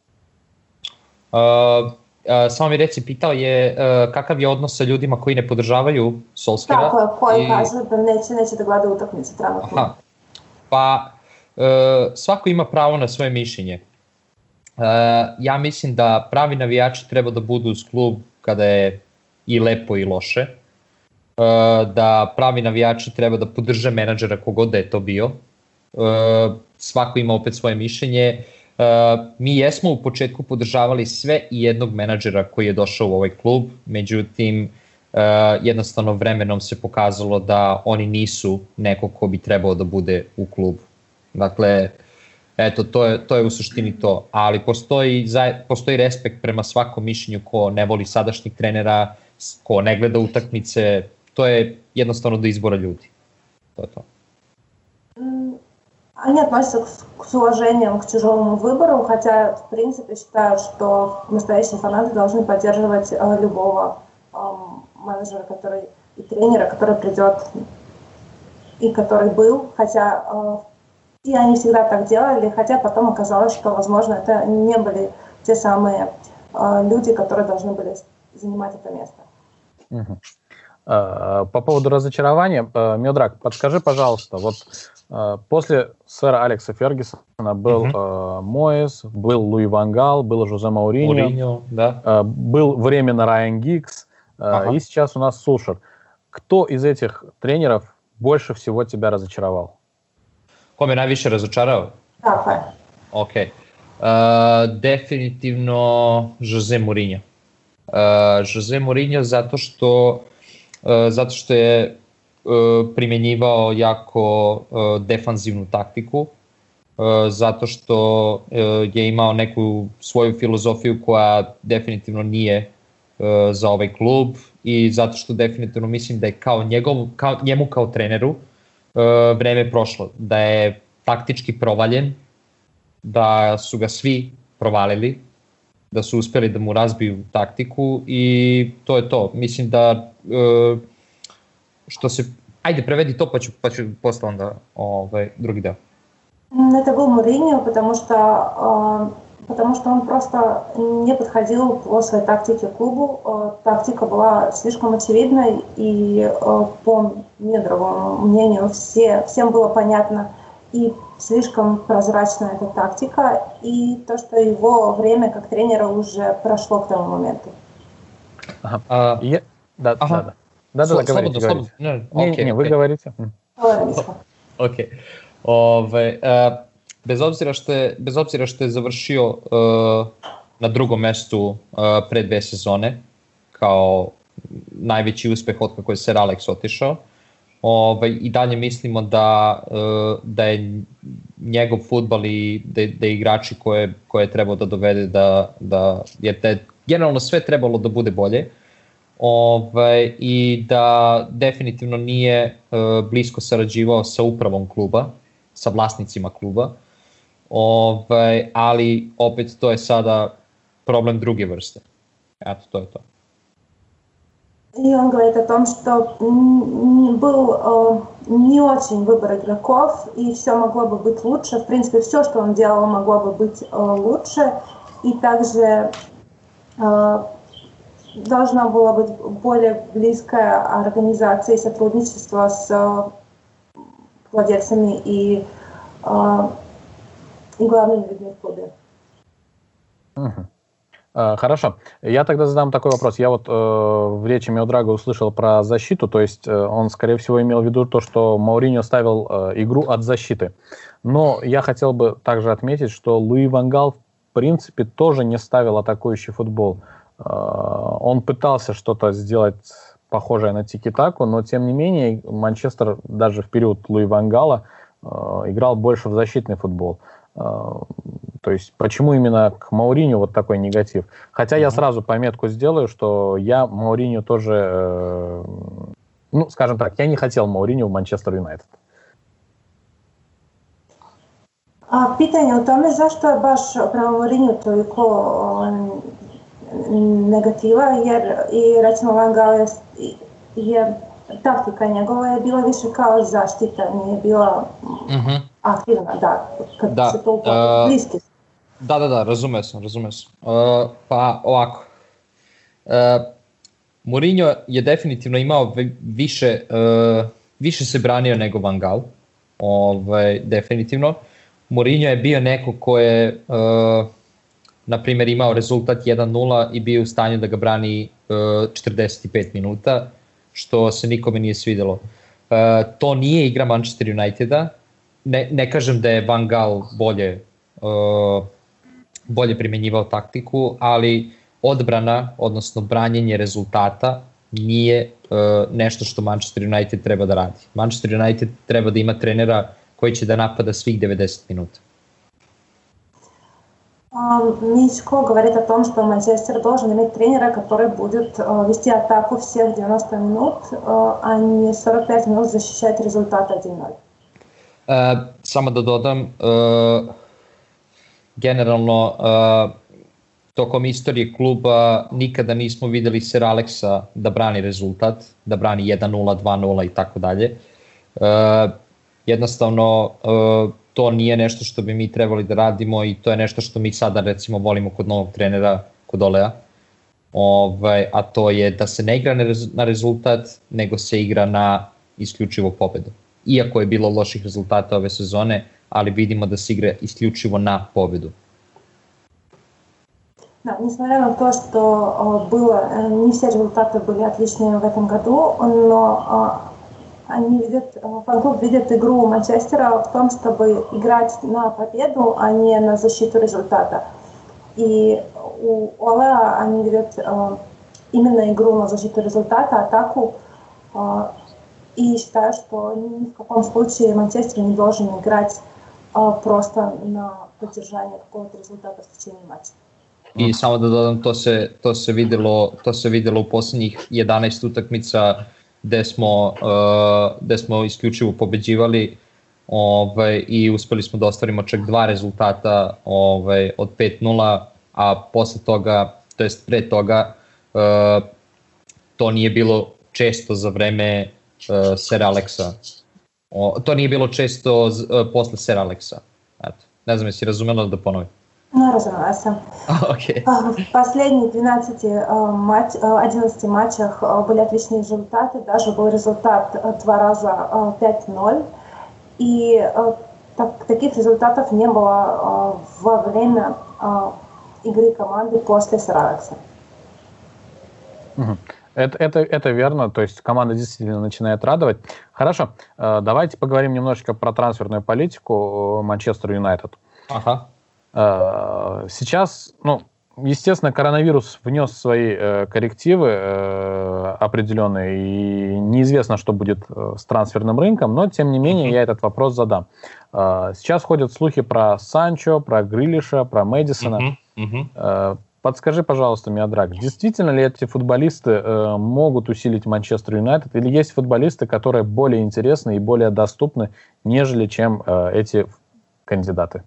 Uh, uh, samo mi reci, pitao je uh, kakav je odnos sa ljudima koji ne podržavaju Solskjera. Tako je, koji i... kažu da neće, neće da gleda utakmice trenutno. Pa uh, svako ima pravo na svoje mišljenje. Uh, ja mislim da pravi navijači treba da budu uz klub kada je i lepo i loše, uh, da pravi navijači treba da podrže menadžera kogod da je to bio, uh, svako ima opet svoje mišljenje. Uh, mi jesmo u početku podržavali sve i jednog menadžera koji je došao u ovaj klub, međutim uh, jednostavno vremenom se pokazalo da oni nisu neko ko bi trebao da bude u klubu. Dakle, eto, to je, to je u suštini to, ali postoji, postoji respekt prema svakom mišljenju ko ne voli sadašnjih trenera, ko ne gleda utakmice, to je jednostavno do izbora ljudi. To je to. Они относятся к, с уважением к чужому выбору, хотя в принципе считают, что настоящие фанаты должны поддерживать э, любого э, менеджера, который, и тренера, который придет и который был, хотя э, и они всегда так делали, хотя потом оказалось, что, возможно, это не были те самые э, люди, которые должны были занимать это место. Угу. По поводу разочарования, Миодраг, подскажи, пожалуйста, вот после сэра Алекса Фергюсона был uh-huh. Моэс, был Луи Ван Гал, был Жозе Мауриньо, Мауриньо, да. был временно Райан Гиггс, uh-huh. и сейчас у нас Сулшер. Кто из этих тренеров больше всего тебя разочаровал? Ko me najviše razočarao? Tako je. Ok. Uh, definitivno Jose Mourinho. Uh, Jose Mourinho zato što, uh, zato što je uh, primjenjivao jako uh, defanzivnu taktiku, uh, zato što uh, je imao neku svoju filozofiju koja definitivno nije uh, za ovaj klub i zato što definitivno mislim da je kao, njegov, kao njemu kao treneru uh, vreme prošlo, da je taktički provaljen, da su ga svi provalili, da su uspeli da mu razbiju taktiku i to je to. Mislim da uh, što se... Ajde, prevedi to pa ću, pa ću posle onda ovaj, drugi deo. Это был Мourinho, потому что э, потому что он просто не подходил по своей тактике к клубу. Тактика была слишком очевидной, и по Медровому мнению все, всем было понятно, и слишком прозрачна эта тактика, и то, что его время как тренера уже прошло к тому моменту. Ага. А, я... Да, ага. да, да. Да, да, да, говорите, говорите. Не, okay, не, okay. Вы говорите. Окej. Ove, uh, bez obzira što je bez obzira što je završio uh, na drugom mestu uh, pre dve sezone kao najveći uspeh od kako je Sir Alex otišao. Ove, i dalje mislimo da uh, da je njegov fudbal i da, da je igrači koje koje je trebao da dovede da da je da je generalno sve trebalo da bude bolje. Ove, i da definitivno nije uh, blisko sarađivao sa upravom kluba, sa vlasnicima kluba, Ove, ali opet to je sada problem druge vrste. Eto, to je to. И он говорит о том, что был э, не очень выбор игроков, и все могло бы быть лучше. В принципе, все, что он делал, могло бы быть э, лучше. И также э, должна была быть более близкая организация и сотрудничество с э, владельцами и, э, и главными людьми в клубе. Uh-huh. Uh, хорошо. Я тогда задам такой вопрос. Я вот uh, в речи Миодрага услышал про защиту, то есть uh, он, скорее всего, имел в виду то, что Мауриньо ставил uh, игру от защиты. Но я хотел бы также отметить, что Луи ван Гал, в принципе, тоже не ставил атакующий футбол. Uh, он пытался что-то сделать похожее на тики-таку, но, тем не менее, Манчестер даже в период Луи ван Гала uh, играл больше в защитный футбол. Uh, то есть почему именно к Мауриньо вот такой негатив? Хотя mm-hmm. я сразу пометку сделаю, что я Мауриньо тоже, э, ну, скажем так, я не хотел Мауриньо в Манчестер Юнайтед. A pitanje o tome zašto je baš prema Mourinju toliko negativa, jer i recimo Van Gaal je, je taktika njegova je bila više kao zaštita, nije bila mm-hmm. aktivna, da, kad da, se to upogleda, bliski. Da, da, da, razumeo sam, razumeo sam. Uh, pa ovako, uh, Mourinho je definitivno imao više, uh, više se branio nego Van Gaal, ovaj, definitivno. Mourinho je bio neko ko je, uh, na primjer, imao rezultat jedan nula i bio u stanju da ga brani uh, četrdeset pet minuta, što se nikome nije svidelo. Uh, to nije igra Manchester Uniteda. Ne, ne kažem da je Van Gaal bolje, uh, bolje primjenjivao taktiku, ali odbrana, odnosno branjenje rezultata nije uh, nešto što Manchester United treba da radi. Manchester United treba da ima trenera koji će da napada svih devedeset minuta. Мичко говорит о том, что Манчестер должен иметь тренера, который будет uh, вести атаку всех девяносто минут, uh, а не сорок пять минут защищать результат один ноль. Uh, samo da dodam, uh, generalno uh, tokom istorije kluba nikada nismo videli Sir Alexa da brani rezultat, da brani jedan nula, dva nula i tako dalje. Jednostavno uh, to nije nešto što bi mi trebali da radimo i to je nešto što mi sada recimo volimo kod novog trenera, kod Olea, ovaj, a to je da se ne igra na rezultat, nego se igra na isključivo pobedu. Iako je bilo loših rezultata ove sezone, ali vidimo da se igra isključivo na pobedu. Да, несмотря на то, что было, не все результаты были отличные в этом году, но они видят, фан-клуб видит игру Манчестера в том, чтобы играть на победу, а не на защиту результата. И у Олеа они видят именно игру на защиту результата, атаку, и считаю, что ни в каком случае Манчестер не должен играть просто на поддержание какого-то результата в течение матча. I samo da dodam, to se, to se videlo, to se videlo u poslednjih jedanaest utakmica gde smo, uh, gde smo isključivo pobeđivali, ovaj, i uspeli smo da ostvarimo čak dva rezultata, ovaj, od pet nula, a posle toga, to jest pre toga, uh, to nije bilo često za vreme uh, Sir Alexa. O, to nije bilo često uh, posle Sir Alexa. Eto, ne znam jesi razumela da ponovim. Ну, разумеется. Okay. В последних двенадцати, одиннадцати матчах были отличные результаты. Даже был результат два раза пять ноль. И так, таких результатов не было во время игры команды после Саравекса. Угу. Это, это, это верно, то есть команда действительно начинает радовать. Хорошо, давайте поговорим немножечко про трансферную политику Манчестер Юнайтед. Ага. Сейчас, ну, естественно, коронавирус внес свои э, коррективы э, определенные, и неизвестно, что будет э, с трансферным рынком, но, тем не менее, mm-hmm. я этот вопрос задам. Э, сейчас ходят слухи про Санчо, про Грилиша, про Мэдисона. Mm-hmm. Mm-hmm. Э, подскажи, пожалуйста, Миодраг, действительно ли эти футболисты э, могут усилить Манчестер Юнайтед, или есть футболисты, которые более интересны и более доступны, нежели чем э, эти kandidati?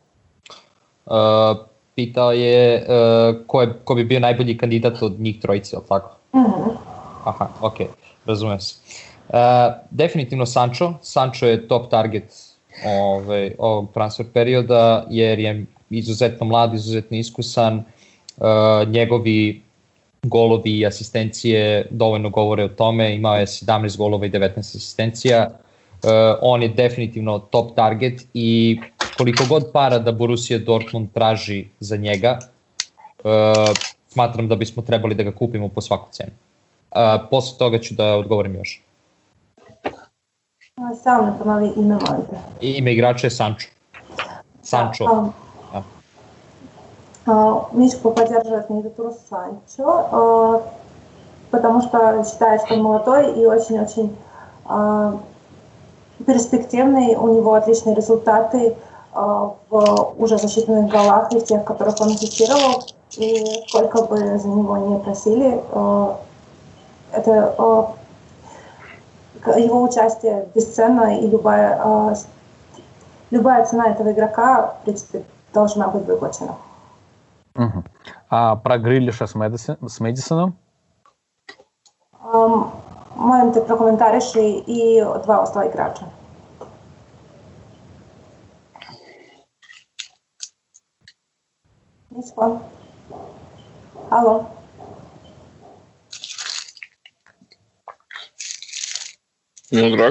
Uh, pitao je uh, ko, je, ko bi bio najbolji kandidat od njih trojice, ali tako? Mm-hmm. Aha, ok, razumijem se. Uh, definitivno Sancho. Sancho je top target ove, ovog transfer perioda, jer je izuzetno mlad, izuzetno iskusan. Uh, njegovi golovi i asistencije dovoljno govore o tome. Imao je sedamnaest golova i devetnaest asistencija. Uh, on je definitivno top target i koliko god para da Borussia Dortmund traži za njega, uh, smatram da bismo trebali da ga kupimo po svaku cenu. Uh, posle toga ću da odgovorim još. Samo ne ponovi ime možda. Ime igrača je Sancho. Sancho. Um, ja. uh, Мишка поддерживает кандидатуру Санчо, uh, потому что считает, что он молодой и очень-очень uh, перспективный, у него отличные результаты в уже засчитанных голах и в тех, которых он ассистировал, и сколько бы за него не просили, это его участие бесценно, и любая, любая цена этого игрока, в принципе, должна быть выплачена. Угу. А про Грилиша с, Мэдисон, с Мэдисоном? Molim te prokomentariši i dva ostala igrača. Nismo. Halo. Miodrag.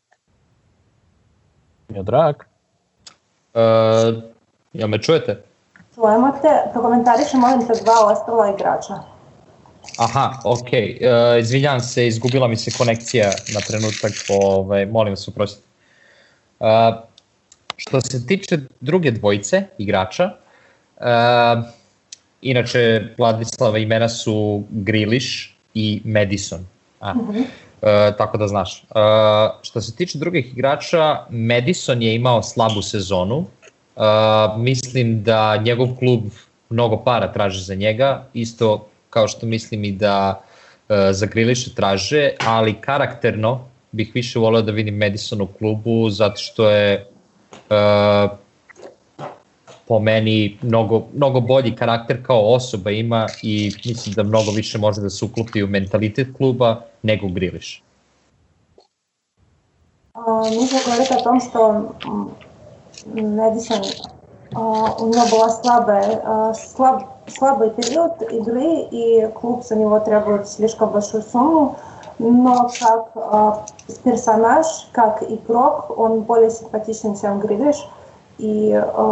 Miodrag. Uh, ja me čujete? Čujemo te. Prokomentariši, molim te, dva ostala igrača. Aha, ok. Uh, izvinjam se, izgubila mi se konekcija na trenutak, ovaj, molim vas oprostite. Uh, što se tiče druge dvojice igrača, uh, inače Vladislava imena su Grealish i Madison. A, uh-huh. uh, tako da znaš. Uh, što se tiče drugih igrača, Madison je imao slabu sezonu. Uh, mislim da njegov klub mnogo para traži za njega, isto kao što mislim i da uh, za Grealisha traže, ali karakterno bih više voleo da vidim Madison u klubu, zato što je uh, po meni mnogo, mnogo bolji karakter kao osoba ima i mislim da mnogo više može da se uklopi u mentalitet kluba nego Grealish. Нужно говорить о том, что Мэдисон, у него была слабая, слаб, слабый период игры, и клуб за него требует слишком большую сумму, но как персонаж, как игрок, он более симпатичен, чем Grealish, и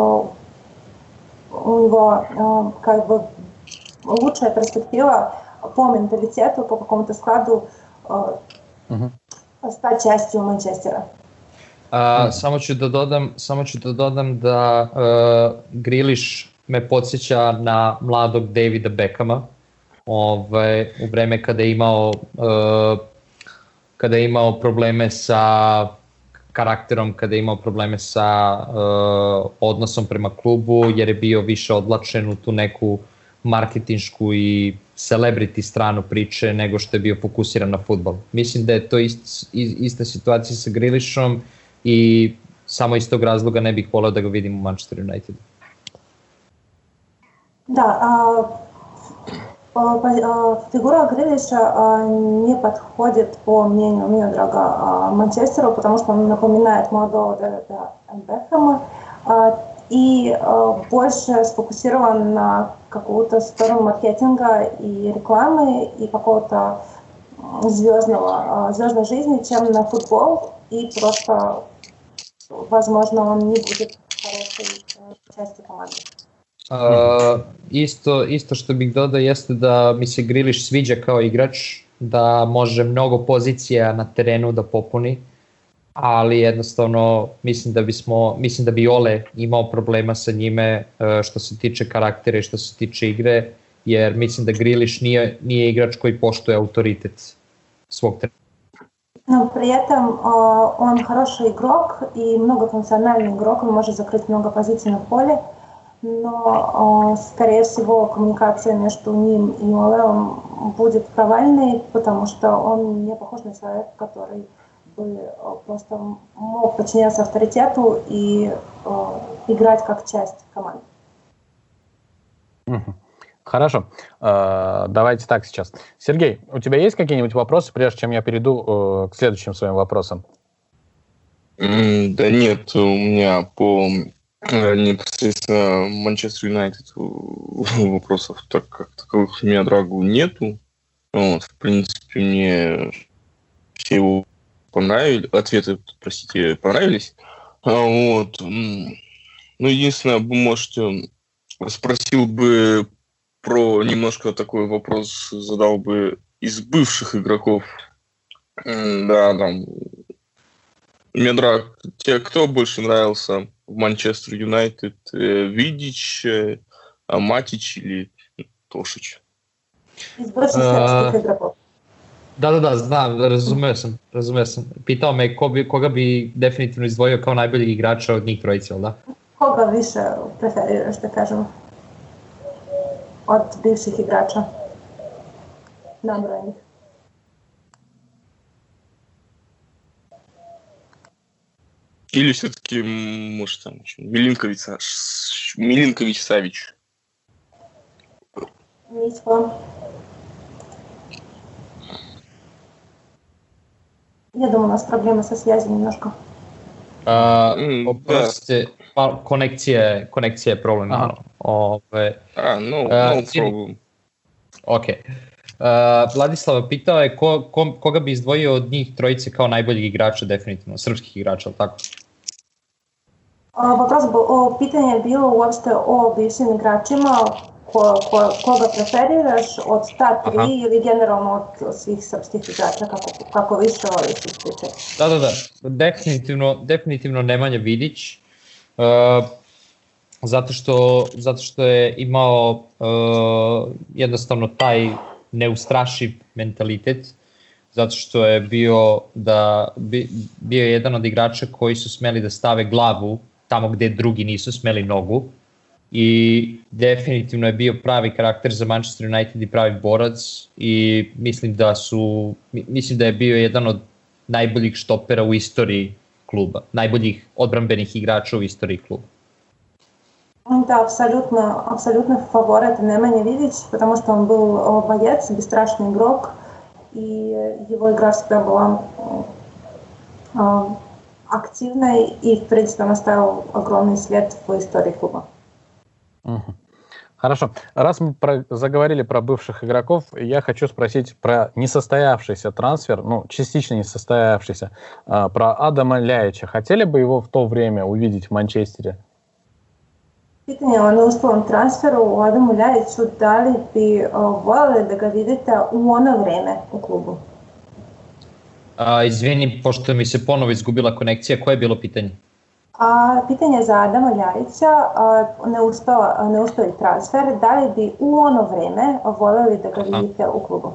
у него как бы лучшая перспектива по менталитету, по какому-то складу uh-huh. стать частью Манчестера. Uh, samo ću da dodam, samo ću da dodam da uh, Grealish me podsjeća na mladog Davida Beckhama, ovaj, u vreme kada je imao uh, kada je imao probleme sa karakterom, kada je imao probleme sa uh, odnosom prema klubu, jer je bio više odlačen u tu neku marketinšku i celebrity stranu priče nego što je bio fokusiran na fudbal. Mislim da je to ist, ista situacija sa Grealishom i samo iz tog razloga ne bih voleo da ga vidim u Manchester Unitedu. Да, а, а, фигура Грилиша а, не подходит, по мнению Миодрага, Манчестеру, потому что он напоминает молодого Дэвида Бекхэма. А, и больше сфокусирован на какую-то сторону маркетинга и рекламы и какого-то звездного, звездной жизни, чем на футбол, и просто, возможно, он не будет хорошей частью команды. Uh, isto, isto što bih dodao jeste da mi se Grealish sviđa kao igrač, da može mnogo pozicija na terenu da popuni, ali jednostavno mislim da bismo, mislim da bi Ole imao problema sa njime što se tiče karaktera i što se tiče igre, jer mislim da Grealish nije, nije igrač koji poštuje autoritet svog trenera. Но при этом э, он хороший игрок и многофункциональный игрок, он может закрыть много позиций на поле, но, э, скорее всего, коммуникация между ним и Олеом будет провальной, потому что он не похож на человека, который бы просто мог подчиняться авторитету и э, играть как часть команды. Хорошо. Давайте так сейчас. Сергей, у тебя есть какие-нибудь вопросы, прежде чем я перейду к следующим своим вопросам? Да нет, у меня по непосредственно Манчестер Юнайтед вопросов так как таковых у меня Драгу нету. Вот, в принципе, мне все его понравились, ответы, простите, понравились. Вот. Ну, единственное, вы можете, спросил бы про немножко такой вопрос, задал бы из бывших игроков. Да, там, Медрак, тебе кто больше нравился в Манчестер Юнайтед? Видич, Матич или Тошич? Из бывших сербских игроков. Da, da, da, znam, razumeo sam, razumeo sam. Pitao me ko bi, koga bi definitivno izdvojio kao najboljeg igrača od njih trojice, da? Koga više preferiraš, da kažemo, od bivših igrača nabrojenih? Или все-таки, может, там еще Милинкович, Милинкович Савич? Ничего. Я думаю, у нас проблемы со связью немножко. Uh, mm, oprostite, pa, konekcija, konekcija je problem. Ove, A, no, uh, no problem. Ok. Uh, Vladislava pitao je ko, ko, koga bi izdvojio od njih trojice kao najboljeg igrača, definitivno, srpskih igrača, ali tako? Uh, вопрос был, о, питание было uopšte o bivšim igračima, ko, ko, koga preferiraš od ta tri Aha. ili generalno od svih srpskih igrača, kako, kako više voliš ispričati? Da, da, da, definitivno, definitivno Nemanja Vidić, uh, zato, što, zato što je imao uh, jednostavno taj neustrašiv mentalitet, zato što je bio, da, bi, bio jedan od igrača koji su smeli da stave glavu tamo gde drugi nisu smeli nogu i definitivno je bio pravi karakter za Manchester United i pravi borac i mislim da su, mislim da je bio jedan od najboljih štopera u istoriji kluba, najboljih odbrambenih igrača u istoriji kluba. Да, абсолютно, абсолютно фаворит Немanja Vidić, потому что он был боец, бесстрашный игрок, и его игра всегда была э, активной, и, в принципе, он оставил огромный след в истории клуба. Угу. Хорошо. Раз мы про, заговорили про бывших игроков, я хочу спросить про несостоявшийся трансфер, ну, частично несостоявшийся, э, про Адама Ляича. Хотели бы его в то время увидеть в Манчестере? Pitanje o neuspelom transferu u Adamu Ljajiću, da li bi uh, voljeli da ga vidite u ono vreme u klubu? A, izvini, pošto mi se ponovo izgubila konekcija, koje je bilo pitanje? A, pitanje za Adama Ljajića, uh, neuspela, neuspeli transfer, da li bi u ono vreme voljeli da ga vidite u klubu?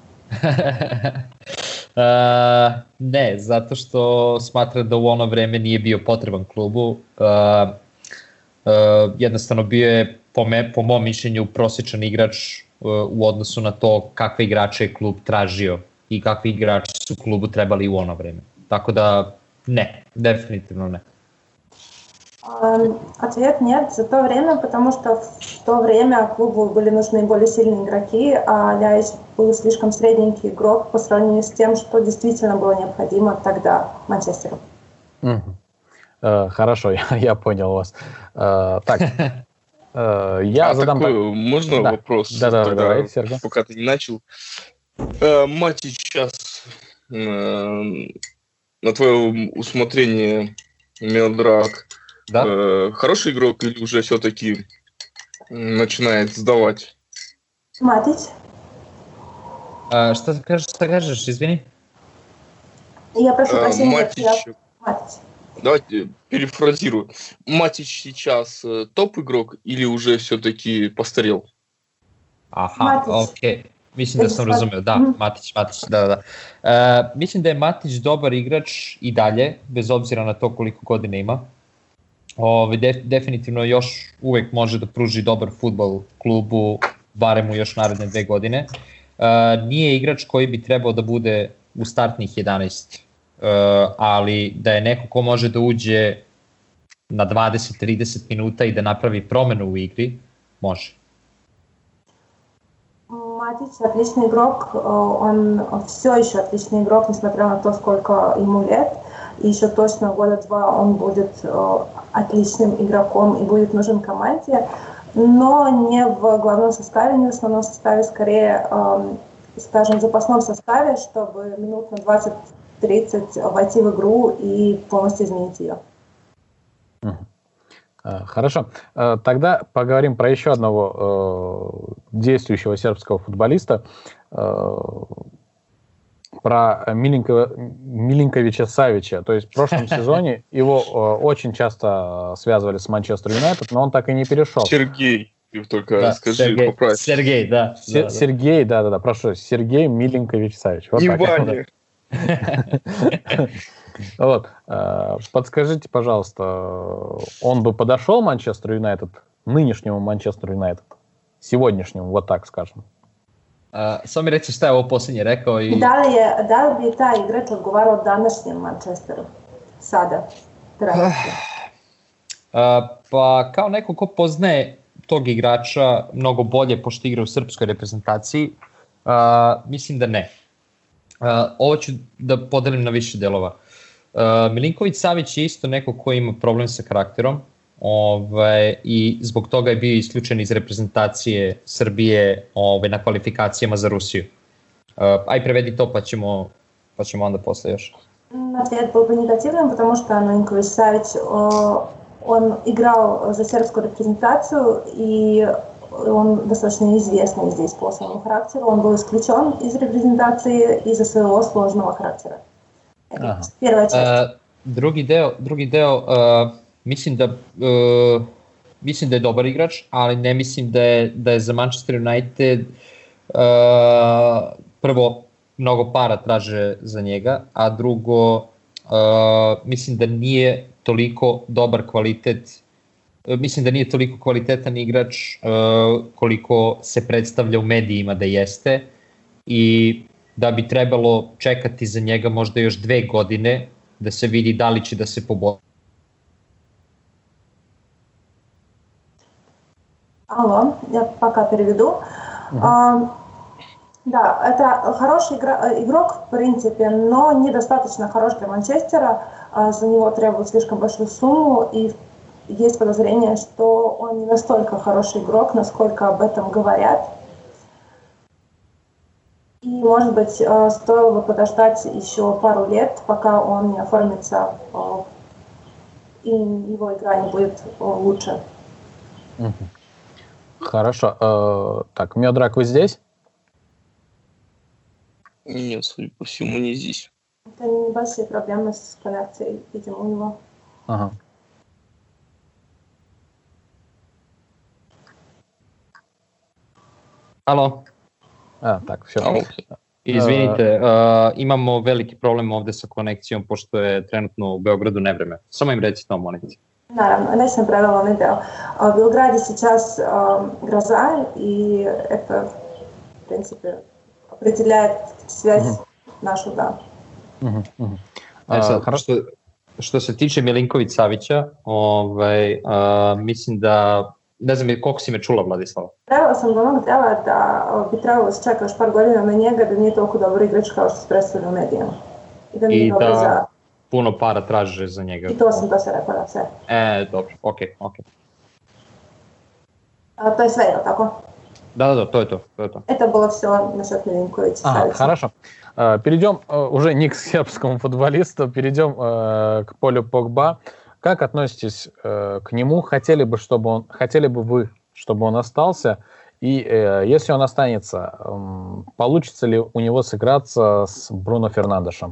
uh, ne, zato što smatram da u ono vreme nije bio potreban klubu. Uh, Uh, jednostavno bio je po, me, po mom mišljenju prosječan igrač uh, u odnosu na to kakve igrače je klub tražio i kakvi igrači su klubu trebali u ono vreme. Tako da ne, definitivno ne. Um, ответ нет за то время, потому что в то время клубу были нужны более сильные игроки, а Ляич был слишком средненький игрок по сравнению с тем, что действительно было необходимо тогда Манчестеру. Mm-hmm. Э, хорошо, я, я понял вас. Э, так, э, я а задам... Такой, можно да. вопрос? Да, да, тогда, давай, Сергей. Пока ты не начал. Э, Матич сейчас э, на твое усмотрение, Миодраг, Да? э, хороший игрок или уже все-таки начинает сдавать? Матич? А, что ты скажешь, что скажешь, извини? Я прошу Э, прощения. Матич, я... Матич. давайте перефразирую. Матич сейчас э, топ-игрок или уже все-таки постарел? Aha, Matić. ok. Mislim da sam Sad- razumeo, da, Mhm. Matić, Matić, da, da. E, mislim da je Matić dobar igrač i dalje, bez obzira na to koliko godina ima. Ove, def, definitivno još uvek može da pruži dobar fudbal klubu, barem u još naredne dve godine. E, nije igrač koji bi trebao da bude u startnih jedanaest, e, ali da je neko ko može da uđe na dvadeset do trideset minuta i da napravi promenu u igri, može. Матич отличный игрок, он все еще отличный игрок, несмотря на то, сколько ему лет. И еще точно года два он будет отличным игроком и будет нужен команде, но не в главном составе, не в основном составе, скорее, скажем, в запасном составе, чтобы минут на двадцать-тридцать войти в игру и полностью изменить ее. Хорошо. Тогда поговорим про еще одного э, действующего сербского футболиста, э, про Милинко, Милинковича Савича. То есть в прошлом сезоне его э, очень часто связывали с Манчестер Юнайтед, но он так и не перешел. Сергей, ты только Да, скажи, Сергей, поправь. Сергей, да. Се- да, Сергей, да-да-да, прошу, Сергей Милинкович Савич. Вот Не так. Ваня. Вот. Подскажите, пожалуйста, он бы подошел Манчестер Юнайтед, нынешнему Манчестер Юнайтед, сегодняшнему, вот так скажем? Uh, samo mi reći šta je ovo posljednje rekao i... Da li, je, da li bi taj igrač odgovarao današnjem Manchesteru? Sada. Trenutno. Uh, pa kao neko ko poznaje tog igrača mnogo bolje pošto igra u srpskoj reprezentaciji, uh, mislim da ne. Uh, ovo ću da podelim na više delova. Uh, Milinković Savić je isto neko ko ima problem sa karakterom, ovaj, i zbog toga je bio isključen iz reprezentacije Srbije ovaj, na kvalifikacijama za Rusiju. Uh, aj prevedi to pa ćemo, pa ćemo onda posle još. Ответ был бы негативным, потому что Милинкович Савич, он играл за сербскую репрезентацию, и он достаточно известный здесь по своему характеру. Он был исключен из репрезентации из-за своего сложного характера. Ага. Первая часть. Uh, drugi deo, drugi deo uh, mislim da uh, mislim da je dobar igrač, ali ne mislim da je da je za Manchester United uh, prvo mnogo para traže za njega, a drugo uh, mislim da nije toliko dobar kvalitet, uh, mislim da nije toliko kvalitetan igrač uh, koliko se predstavlja u medijima da jeste, i da bi trebalo čekati za njega možda još dve godine da se vidi da li će da se poboljša. Алло, я пока переведу. Uh-huh. А, да, это хороший игра, игрок, в принципе, но недостаточно хорош для Манчестера. А, за него требуют слишком большую сумму, и есть подозрение, что он не настолько хороший игрок, насколько об этом говорят. И, может быть, стоило бы подождать еще пару лет, пока он не оформится, и его игра не будет лучше. Угу. Хорошо. Э, так, Миодраг, вы здесь? Нет, судя по всему, не здесь. Это небольшие проблемы с коннекцией, видимо, у него. Ага. Alo. A, tak, все. Izvinite, uh, imamo veliki problem ovde sa konekcijom, pošto je trenutno u Beogradu nevreme. Samo im reci to, molim te. Наравно, весь съм превела на видео. В Белграде сейчас э, гроза, и это, в принципе, определяет связь mm-hmm. нашу, да. Mm-hmm. Mm-hmm. E sad, uh, što, što se tiče Milinković Savića, ovaj, uh, mislim da, ne znam koliko si me čula, Vladislava? Prevela sam do onog dela da bi trebalo se čeka još par godina na njega, da nije toliko dobar igrač kao što se predstavlja u medijama. I da nije dobro za puno para traže za njega. I to sam to se rekla, da, sve. E, dobro, okej, okay, okej. Okay. A, to je sve, je li tako? Да, да, да, то je to, to je to. Это было все насчет Милинковича. Ага, хорошо. Перейдем уже не к сербскому футболисту, перейдем к Полю Погба. Как относитесь к нему? Хотели бы, чтобы он, хотели бы вы, чтобы он остался? И если он останется, получится ли у него сыграться с Бруно Фернандешем?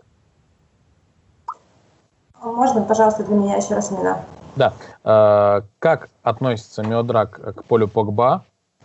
Можно, пожалуйста, для меня еще раз имена? Да. Как относится Миодраг к Полю Погба?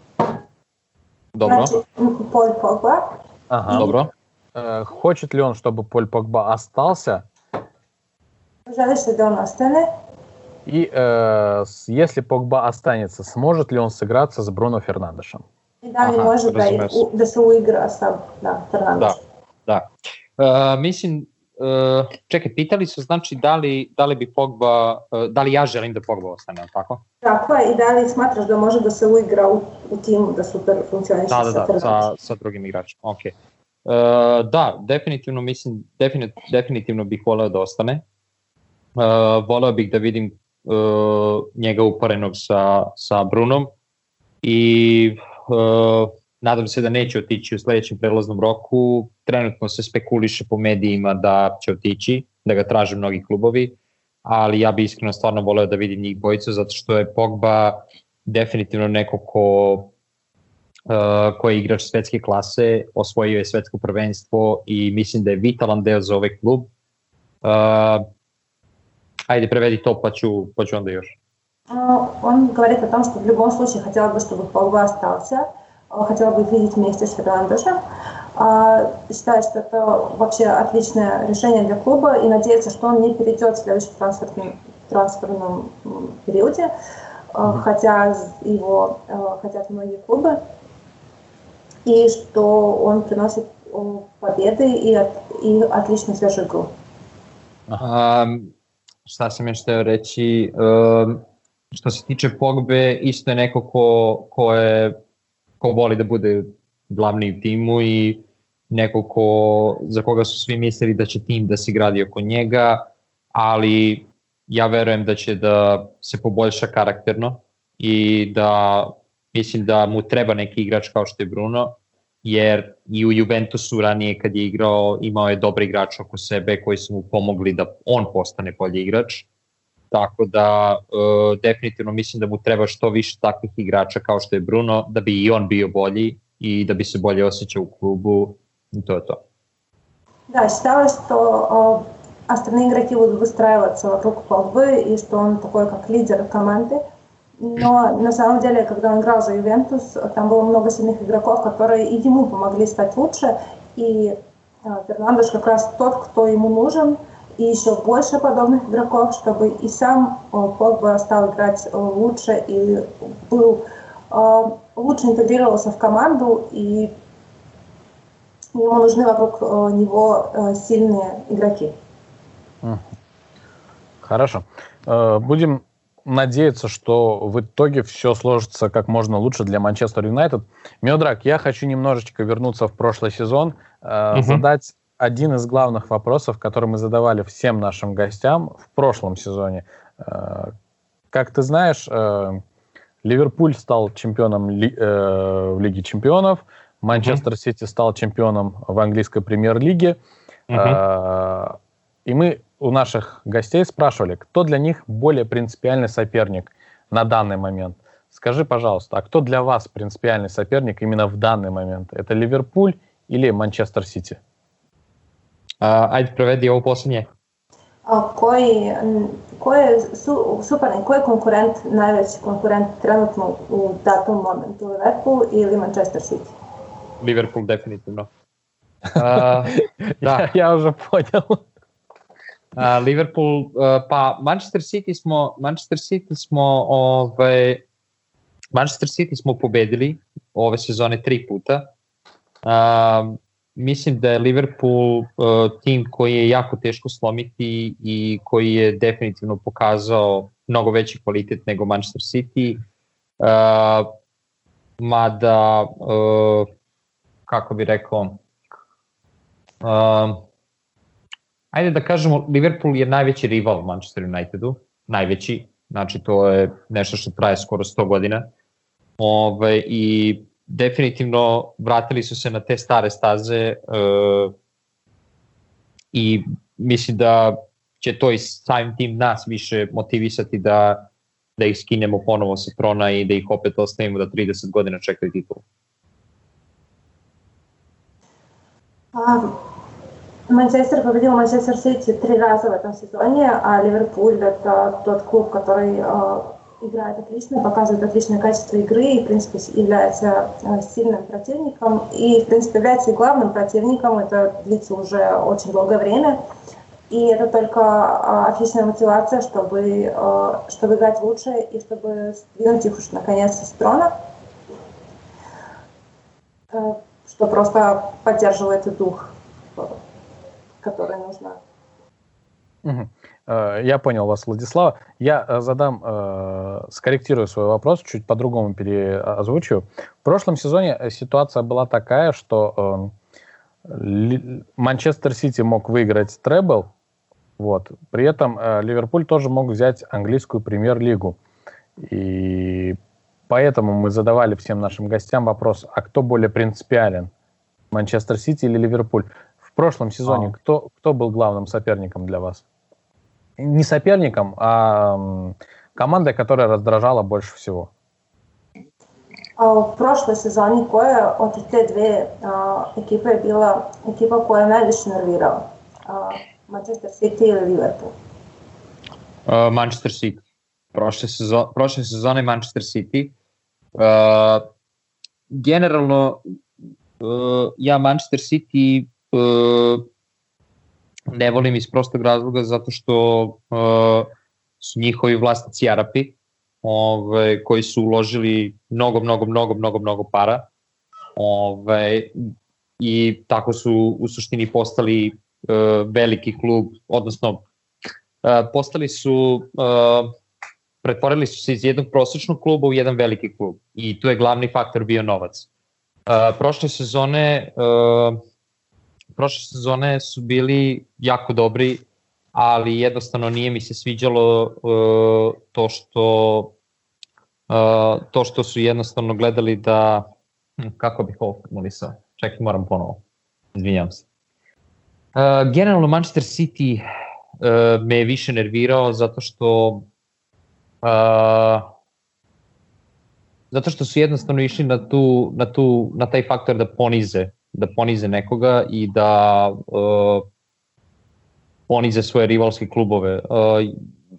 Добро. Значит, Поль Погба. Ага. Добро. Хочет ли он, чтобы Поль Погба остался? Želiš li da on ostane? И э, если Погба останется, сможет ли он сыграться с Бруно Фернандешем? I da li Aha, može da, razumem se. u, da se uigra sa da, Fernandešom? Da, da. Uh, mislim, uh, čekaj, pitali su znači da li, da li bi Pogba, uh, da li ja želim da Pogba ostane, ali tako? Tako je, i da li smatraš da može da se uigra u, u timu, da super funkcioniše Da, da, sa da, Fernandešom? sa, sa drugim igračima, ok. Uh, da, definitivno mislim, definit, definitivno bih voleo da ostane. Uh, voleo bih da vidim uh, njega uporenog sa, sa Brunom i uh, nadam se da neće otići u sledećem prelaznom roku. Trenutno se spekuliše po medijima da će otići, da ga traže mnogi klubovi, ali ja bih iskreno stvarno voleo da vidim njih bojicu, zato što je Pogba definitivno neko ko, uh, ko je igrač svetske klase, osvojio je svetsko prvenstvo i mislim da je vitalan deo za ovaj klub. Uh, Ajde, prevedi to, pa ću, pa ću onda još. Он говорит о том, что в любом случае хотела бы, чтобы Погба остался, хотела бы их видеть вместе с Фернандешем. Считает, что это вообще отличное решение для клуба и надеется, что он не перейдет в следующем трансферном, трансферном периоде, mm-hmm. хотя его хотят многие клубы, и что он приносит победы и, от, и отличную свежую игру. Um, šta sam još hteo reći, um, što se tiče Pogbe, isto je neko ko, ko, je, ko voli da bude glavni u timu i neko ko, za koga su svi mislili da će tim da se gradi oko njega, ali ja verujem da će da se poboljša karakterno i da mislim da mu treba neki igrač kao što je Bruno, jer i u Juventusu ranije kad je igrao imao je dobre igrače oko sebe koji su mu pomogli da on postane bolji igrač, tako da e, definitivno mislim da mu treba što više takvih igrača kao što je Bruno, da bi i on bio bolji i da bi se bolje osjećao u klubu i to je to. Да, считалось, что остальные игроки будут выстраиваться вокруг Погбы и что он такой как лидер команды. Но на самом деле, когда он играл за Ювентус, там было много сильных игроков, которые и ему помогли стать лучше. И Фернандеш как раз тот, кто ему нужен, и еще больше подобных игроков, чтобы и сам Погба стал играть лучше и был, лучше интегрировался в команду, и ему нужны вокруг него сильные игроки. Хорошо. Будем надеяться, что в итоге все сложится как можно лучше для Манчестер Юнайтед. Миодраг, я хочу немножечко вернуться в прошлый сезон, э, угу. задать один из главных вопросов, который мы задавали всем нашим гостям в прошлом сезоне. Э, как ты знаешь, э, Ливерпуль стал чемпионом ли, э, в Лиге чемпионов, Манчестер Сити стал чемпионом в английской премьер-лиге. Угу. Э, и мы у наших гостей спрашивали, кто для них более принципиальный соперник на данный момент. Скажи, пожалуйста, а кто для вас принципиальный соперник именно в данный момент? Это Ливерпуль или Манчестер Сити? Uh, ajde, prevedi ovo posljednje. A koji, koji je su, suparnik, koji je konkurent, najveći konkurent trenutno u datom momentu? Liverpool ili Manchester City? Liverpool, definitivno. Uh, da. ja, ja уже понял. Uh, Liverpool, uh, pa Manchester City smo, Manchester City smo, ovaj, Manchester City smo pobedili ove sezone tri puta. Uh, mislim da je Liverpool uh, tim koji je jako teško slomiti i koji je definitivno pokazao mnogo veći kvalitet nego Manchester City. Uh, mada, uh, kako bi rekao, uh, ajde da kažemo, Liverpool je najveći rival Manchester Unitedu, najveći, znači to je nešto što traje skoro sto godina. Ove, I definitivno vratili su se na te stare staze uh, i mislim da će to i samim tim nas više motivisati da, da ih skinemo ponovo sa trona i da ih opet ostavimo da trideset godina čekaju titulu. Um. Манчестер победил Манчестер Сити три раза в этом сезоне, а Ливерпуль — это тот клуб, который э, играет отлично, показывает отличное качество игры и, в принципе, является э, сильным противником. И, в принципе, является и главным противником. Это длится уже очень долгое время. И это только э, отличная мотивация, чтобы, э, чтобы играть лучше и чтобы сдвинуть их уж наконец-то с трона, э, что просто поддерживает и дух, которые нужно. Угу. Я понял вас, Владислава. Я задам, скорректирую свой вопрос, чуть по-другому переозвучу. В прошлом сезоне ситуация была такая, что Манчестер Сити мог выиграть требл, вот. При этом Ливерпуль тоже мог взять английскую премьер-лигу. И поэтому мы задавали всем нашим гостям вопрос, а кто более принципиален, Манчестер Сити или Ливерпуль? В прошлом сезоне а. кто, кто был главным соперником для вас? Не соперником, а командой, которая раздражала больше всего. В прошлом сезоне koja od te dve uh, ekipe je bila ekipa koja je najviše nervirala? Uh, Manchester City ili Liverpool? Uh, Manchester City. Prošle, sezo- prošle sezone Manchester City. Uh, generalno, uh, ja Manchester City uh, ne volim iz prostog razloga zato što uh, su njihovi vlasnici Arapi, ove, koji su uložili mnogo, mnogo, mnogo, mnogo, mnogo para, ove, i tako su u suštini postali uh, veliki klub, odnosno uh, postali su, uh, pretvorili su se iz jednog prosječnog kluba u jedan veliki klub i tu je glavni faktor bio novac. Uh, prošle sezone uh, prošle sezone su bili jako dobri, ali jednostavno nije mi se sviđalo uh, to što uh, to što su jednostavno gledali da, kako bih ovo formulisao, čekaj, moram ponovo, izvinjam se. Uh, generalno Manchester City uh, me je više nervirao zato što uh, zato što su jednostavno išli na tu, na tu, na taj faktor da ponize da ponize nekoga i da uh, ponize svoje rivalske klubove. Uh,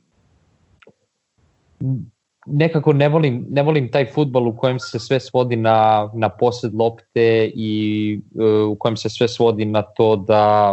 nekako ne volim, ne volim taj fudbal u kojem se sve svodi na, na posed lopte i uh, u kojem se sve svodi na to da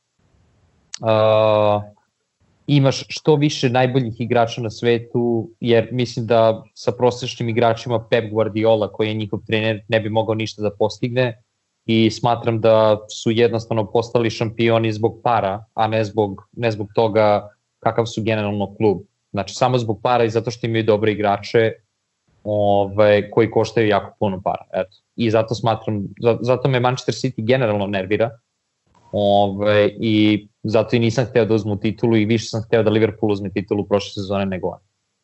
uh, imaš što više najboljih igrača na svetu, jer mislim da sa prosječnim igračima Pep Guardiola, koji je njihov trener, ne bi mogao ništa da postigne. I smatram da su jednostavno postali šampioni zbog para, a ne zbog, ne zbog toga kakav su generalno klub. Znači samo zbog para i zato što imaju dobre igrače ove, koji koštaju jako puno para. Eto. I zato smatram, zato me Manchester City generalno nervira ove, i zato i nisam hteo da uzmu titulu i više sam hteo da Liverpool uzme titulu prošle sezone nego on.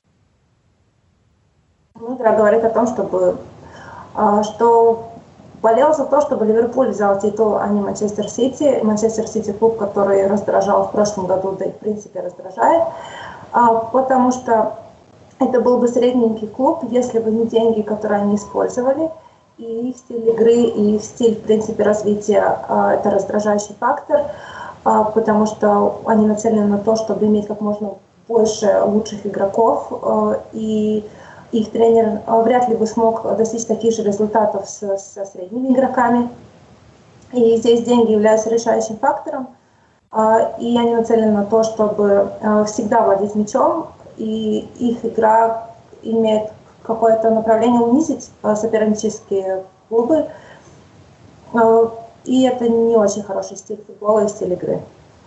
Мудро говорит о том, чтобы, что болел за то, чтобы Ливерпуль взял титул, а не Манчестер Сити. Манчестер Сити клуб, который раздражал в прошлом году, да и в принципе раздражает, потому что это был бы средненький клуб, если бы не деньги, которые они использовали, и их стиль игры, и их стиль, в принципе, развития — это раздражающий фактор, потому что они нацелены на то, чтобы иметь как можно больше лучших игроков, и их тренер вряд ли бы смог достичь таких же результатов со, со средними игроками. И здесь деньги являются решающим фактором. И они нацелены на то, чтобы всегда владеть мячом, и их игра имеет какое-то направление унизить сопернические клубы. И это не очень хороший стиль футбола и стиль игры.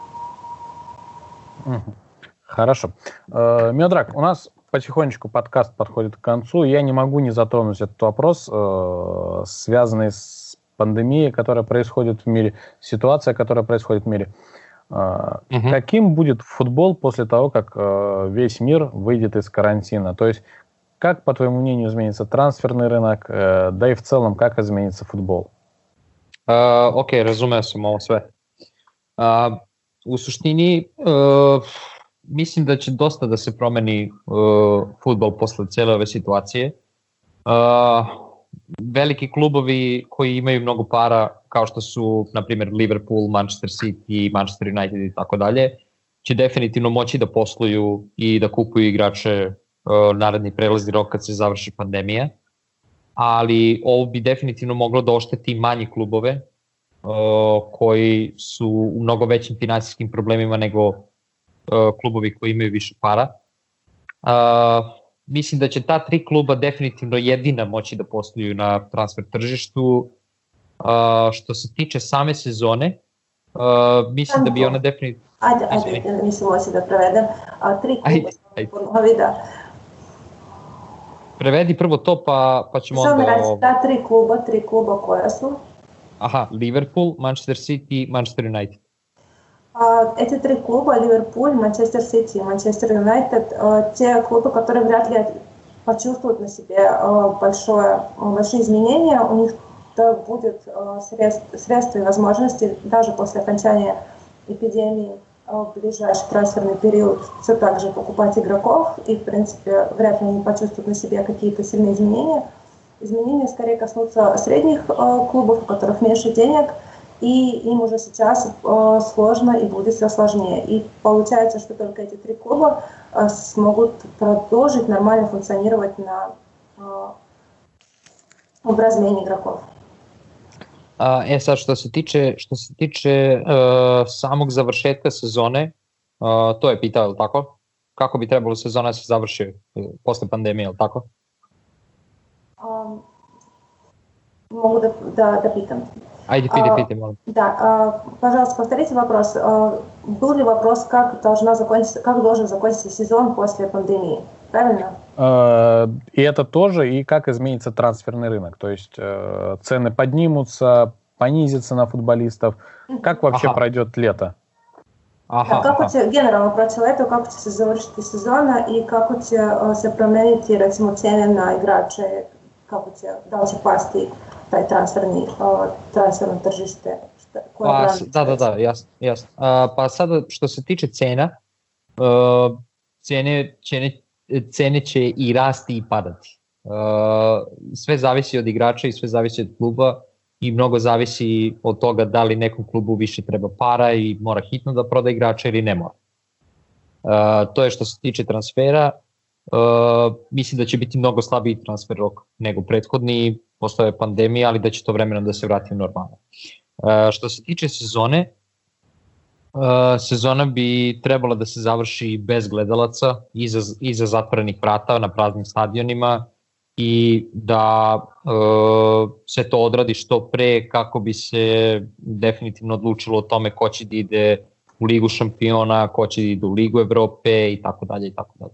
Хорошо. Мiodrag, у нас потихонечку подкаст подходит к концу. Я не могу не затронуть этот вопрос, э, связанный с пандемией, которая происходит в мире, ситуация, которая происходит в мире. Угу. Каким будет футбол после того, как весь мир выйдет из карантина? То есть, как, по твоему мнению, изменится трансферный рынок, да и в целом, как изменится футбол? Uh, ok, razumeo sam ovo sve. Uh, u suštini, uh, mislim da će dosta da se promeni uh, fudbal posle cele ove situacije. Uh, veliki klubovi koji imaju mnogo para, kao što su, na primjer, Liverpool, Manchester City, Manchester United i tako dalje, će definitivno moći da posluju i da kupuju igrače uh, naredni prelazni rok kad se završi pandemija. Ali ovo bi definitivno moglo da ošteti manji klubove uh, koji su u mnogo većim finansijskim problemima nego uh, klubovi koji imaju više para. Uh, mislim da će ta tri kluba definitivno jedina moći da posluju na transfer tržištu. Uh, što se tiče same sezone, uh, mislim da bi ona definitivno... Ajde, ajde, mislim moći da prevedem. A, tri kluba ponovi da... Prevedi prvo to, pa, pa ćemo Samo onda... Samo reći, ta tri kluba, tri kluba koja su? Aha, Liverpool, Manchester City, Manchester United. А, эти три клуба, Ливерпуль, Манчестер Сити и Манчестер Юнайтед, те клубы, которые вряд ли почувствуют на себе большое, большие изменения, у них будет средств, средства и возможности даже после окончания эпидемии в ближайший трансферный период все так же покупать игроков, и, в принципе, вряд ли они почувствуют на себе какие-то сильные изменения. Изменения скорее коснутся средних э, клубов, у которых меньше денег, и им уже сейчас э, сложно и будет все сложнее. И получается, что только эти три клуба э, смогут продолжить нормально функционировать на, э, в размене игроков. Uh, e sad, što se tiče, što se tiče uh, samog završetka sezone, uh, to je pitao, je li tako? Kako bi trebalo sezona se završi uh, posle pandemije, je li tako? Um, mogu da, da, da pitam. Ajde, piti, piti, molim. Да, uh, пожалуйста, повторите вопрос. Uh, был ли вопрос, как, должна закончиться, как должен закончиться сезон после пандемии? Правильно? И это тоже, и как изменится трансферный рынок. То есть цены поднимутся, понизятся на футболистов. Как вообще ага. пройдет лето? Ага, да, как ага. Генерално про лето, kako će se završiti sezona i kako će se promeniti recimo cijene na igrače, kako će, da li će pasti taj transferni, transferno tržište? Pa, da, da, da, jasno, jasno. A, pa sada što se tiče cena, uh, cene, cene cene će i rasti i padati. Uh, sve zavisi od igrača i sve zavisi od kluba i mnogo zavisi od toga da li nekom klubu više treba para i mora hitno da proda igrača ili ne mora. Uh, to je što se tiče transfera. Uh, mislim da će biti mnogo slabiji transfer rok nego prethodni, postoje pandemija, ali da će to vremenom da se vrati u normalno. Uh, što se tiče sezone, Uh, sezona bi trebala da se završi bez gledalaca, iza, iza zatvorenih vrata na praznim stadionima i da uh, se to odradi što pre kako bi se definitivno odlučilo o tome ko će da ide u Ligu šampiona, ko će da ide u Ligu Evrope i tako dalje i tako dalje.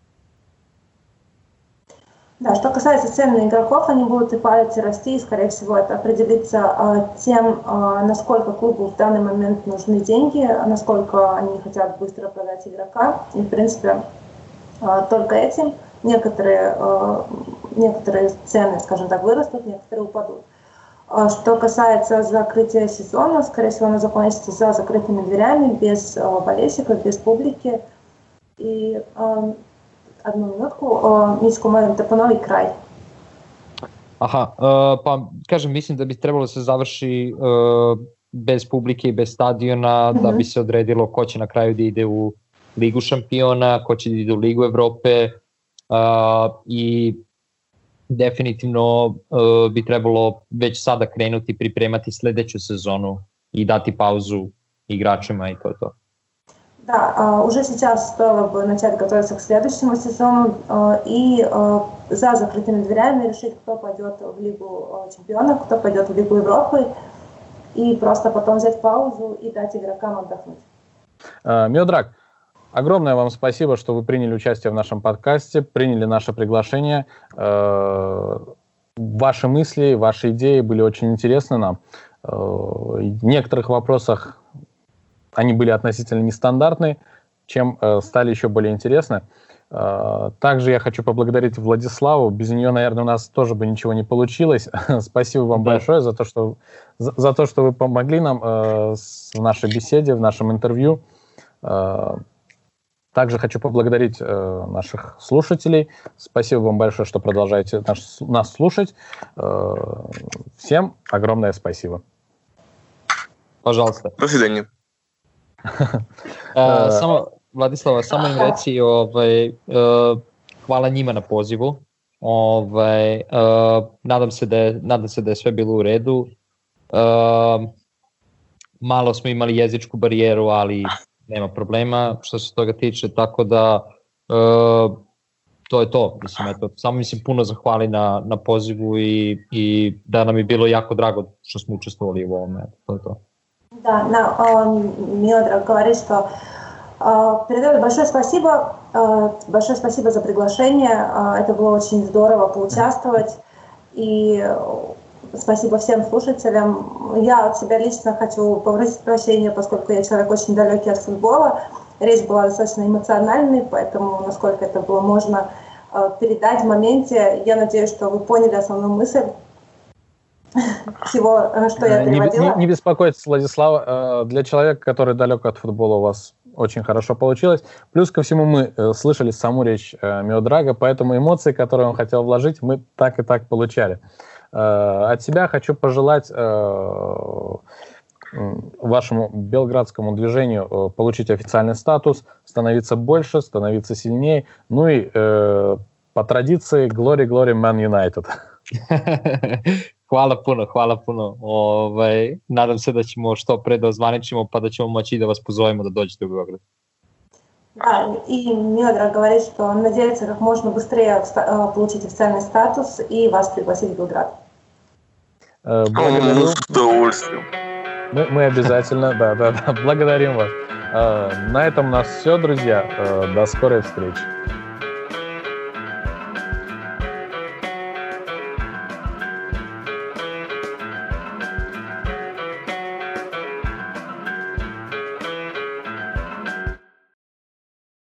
Да, что касается цен на игроков, они будут и падать, и расти, и, скорее всего, это определится э, тем, э, насколько клубу в данный момент нужны деньги, насколько они хотят быстро продать игрока. И, в принципе, э, только этим некоторые, э, некоторые цены, скажем так, вырастут, некоторые упадут. Э, что касается закрытия сезона, скорее всего, оно закончится за закрытыми дверями, без э, болельщиков, без публики. И э, Одnu minutku, Mićko, moram te ponovi kraj. Aha, uh, pa kažem, mislim da bi trebalo da se završi uh, bez publike i bez stadiona, mm-hmm. da bi se odredilo ko će na kraju da ide u Ligu šampiona, ko će da ide u Ligu Evrope uh, i definitivno uh, bi trebalo već sada krenuti pripremati sledeću sezonu i dati pauzu igračima i to je to. Да, уже сейчас стоило бы начать готовиться к следующему сезону и за закрытыми дверями решить, кто пойдет в Лигу чемпионов, кто пойдет в Лигу Европы, и просто потом взять паузу и дать игрокам отдохнуть. Миодраг, огромное вам спасибо, что вы приняли участие в нашем подкасте, приняли наше приглашение. Ваши мысли, ваши идеи были очень интересны нам. В некоторых вопросах они были относительно нестандартные, чем э, стали еще более интересны. Э, также я хочу поблагодарить Владиславу. Без нее, наверное, у нас тоже бы ничего не получилось. Спасибо вам да. большое за то, что, за, за то, что вы помогли нам э, в нашей беседе, в нашем интервью. Э, также хочу поблагодарить э, наших слушателей. Спасибо вам большое, что продолжаете наш, нас слушать. Э, всем огромное спасибо. Пожалуйста. До свидания. Uh, samo, Vladislava, samo im reci, ovaj, uh, hvala njima na pozivu. Ovaj, uh, nadam, se da je, nadam se da je sve bilo u redu. Uh, malo smo imali jezičku barijeru, ali nema problema što se toga tiče, tako da uh, to je to. Mislim, eto, samo mislim puno zahvali na, na pozivu i, i da nam je bilo jako drago što smo učestvovali u ovome. To je to. Да, на, Миодраг говорит, что э, передает большое спасибо, э, большое спасибо за приглашение, э, это было очень здорово поучаствовать, и э, спасибо всем слушателям. Я от себя лично хочу попросить прощения, поскольку я человек очень далекий от футбола, речь была достаточно эмоциональной, поэтому, насколько это было можно э, передать в моменте, я надеюсь, что вы поняли основную мысль всего, что я переводила. Не, не, не беспокойтесь, Владислава. Для человека, который далек от футбола, у вас очень хорошо получилось. Плюс ко всему мы слышали саму речь Миодрага, поэтому эмоции, которые он хотел вложить, мы так и так получали. От себя хочу пожелать вашему белградскому движению получить официальный статус, становиться больше, становиться сильнее. Ну и по традиции Glory, Glory, Man United. Hvala puno, hvala puno. Ove, nadam se da ćemo što pre da ozvaničimo, pa da ćemo moći da vas pozovemo da dođete u Beograd. Да, и Миодраг говорит, что он надеется как можно быстрее получить официальный статус и вас пригласить в Белград. Благодарю. С удовольствием. Мы, мы обязательно, да, да, да, благодарим вас. На этом у нас все, друзья. До скорой встречи.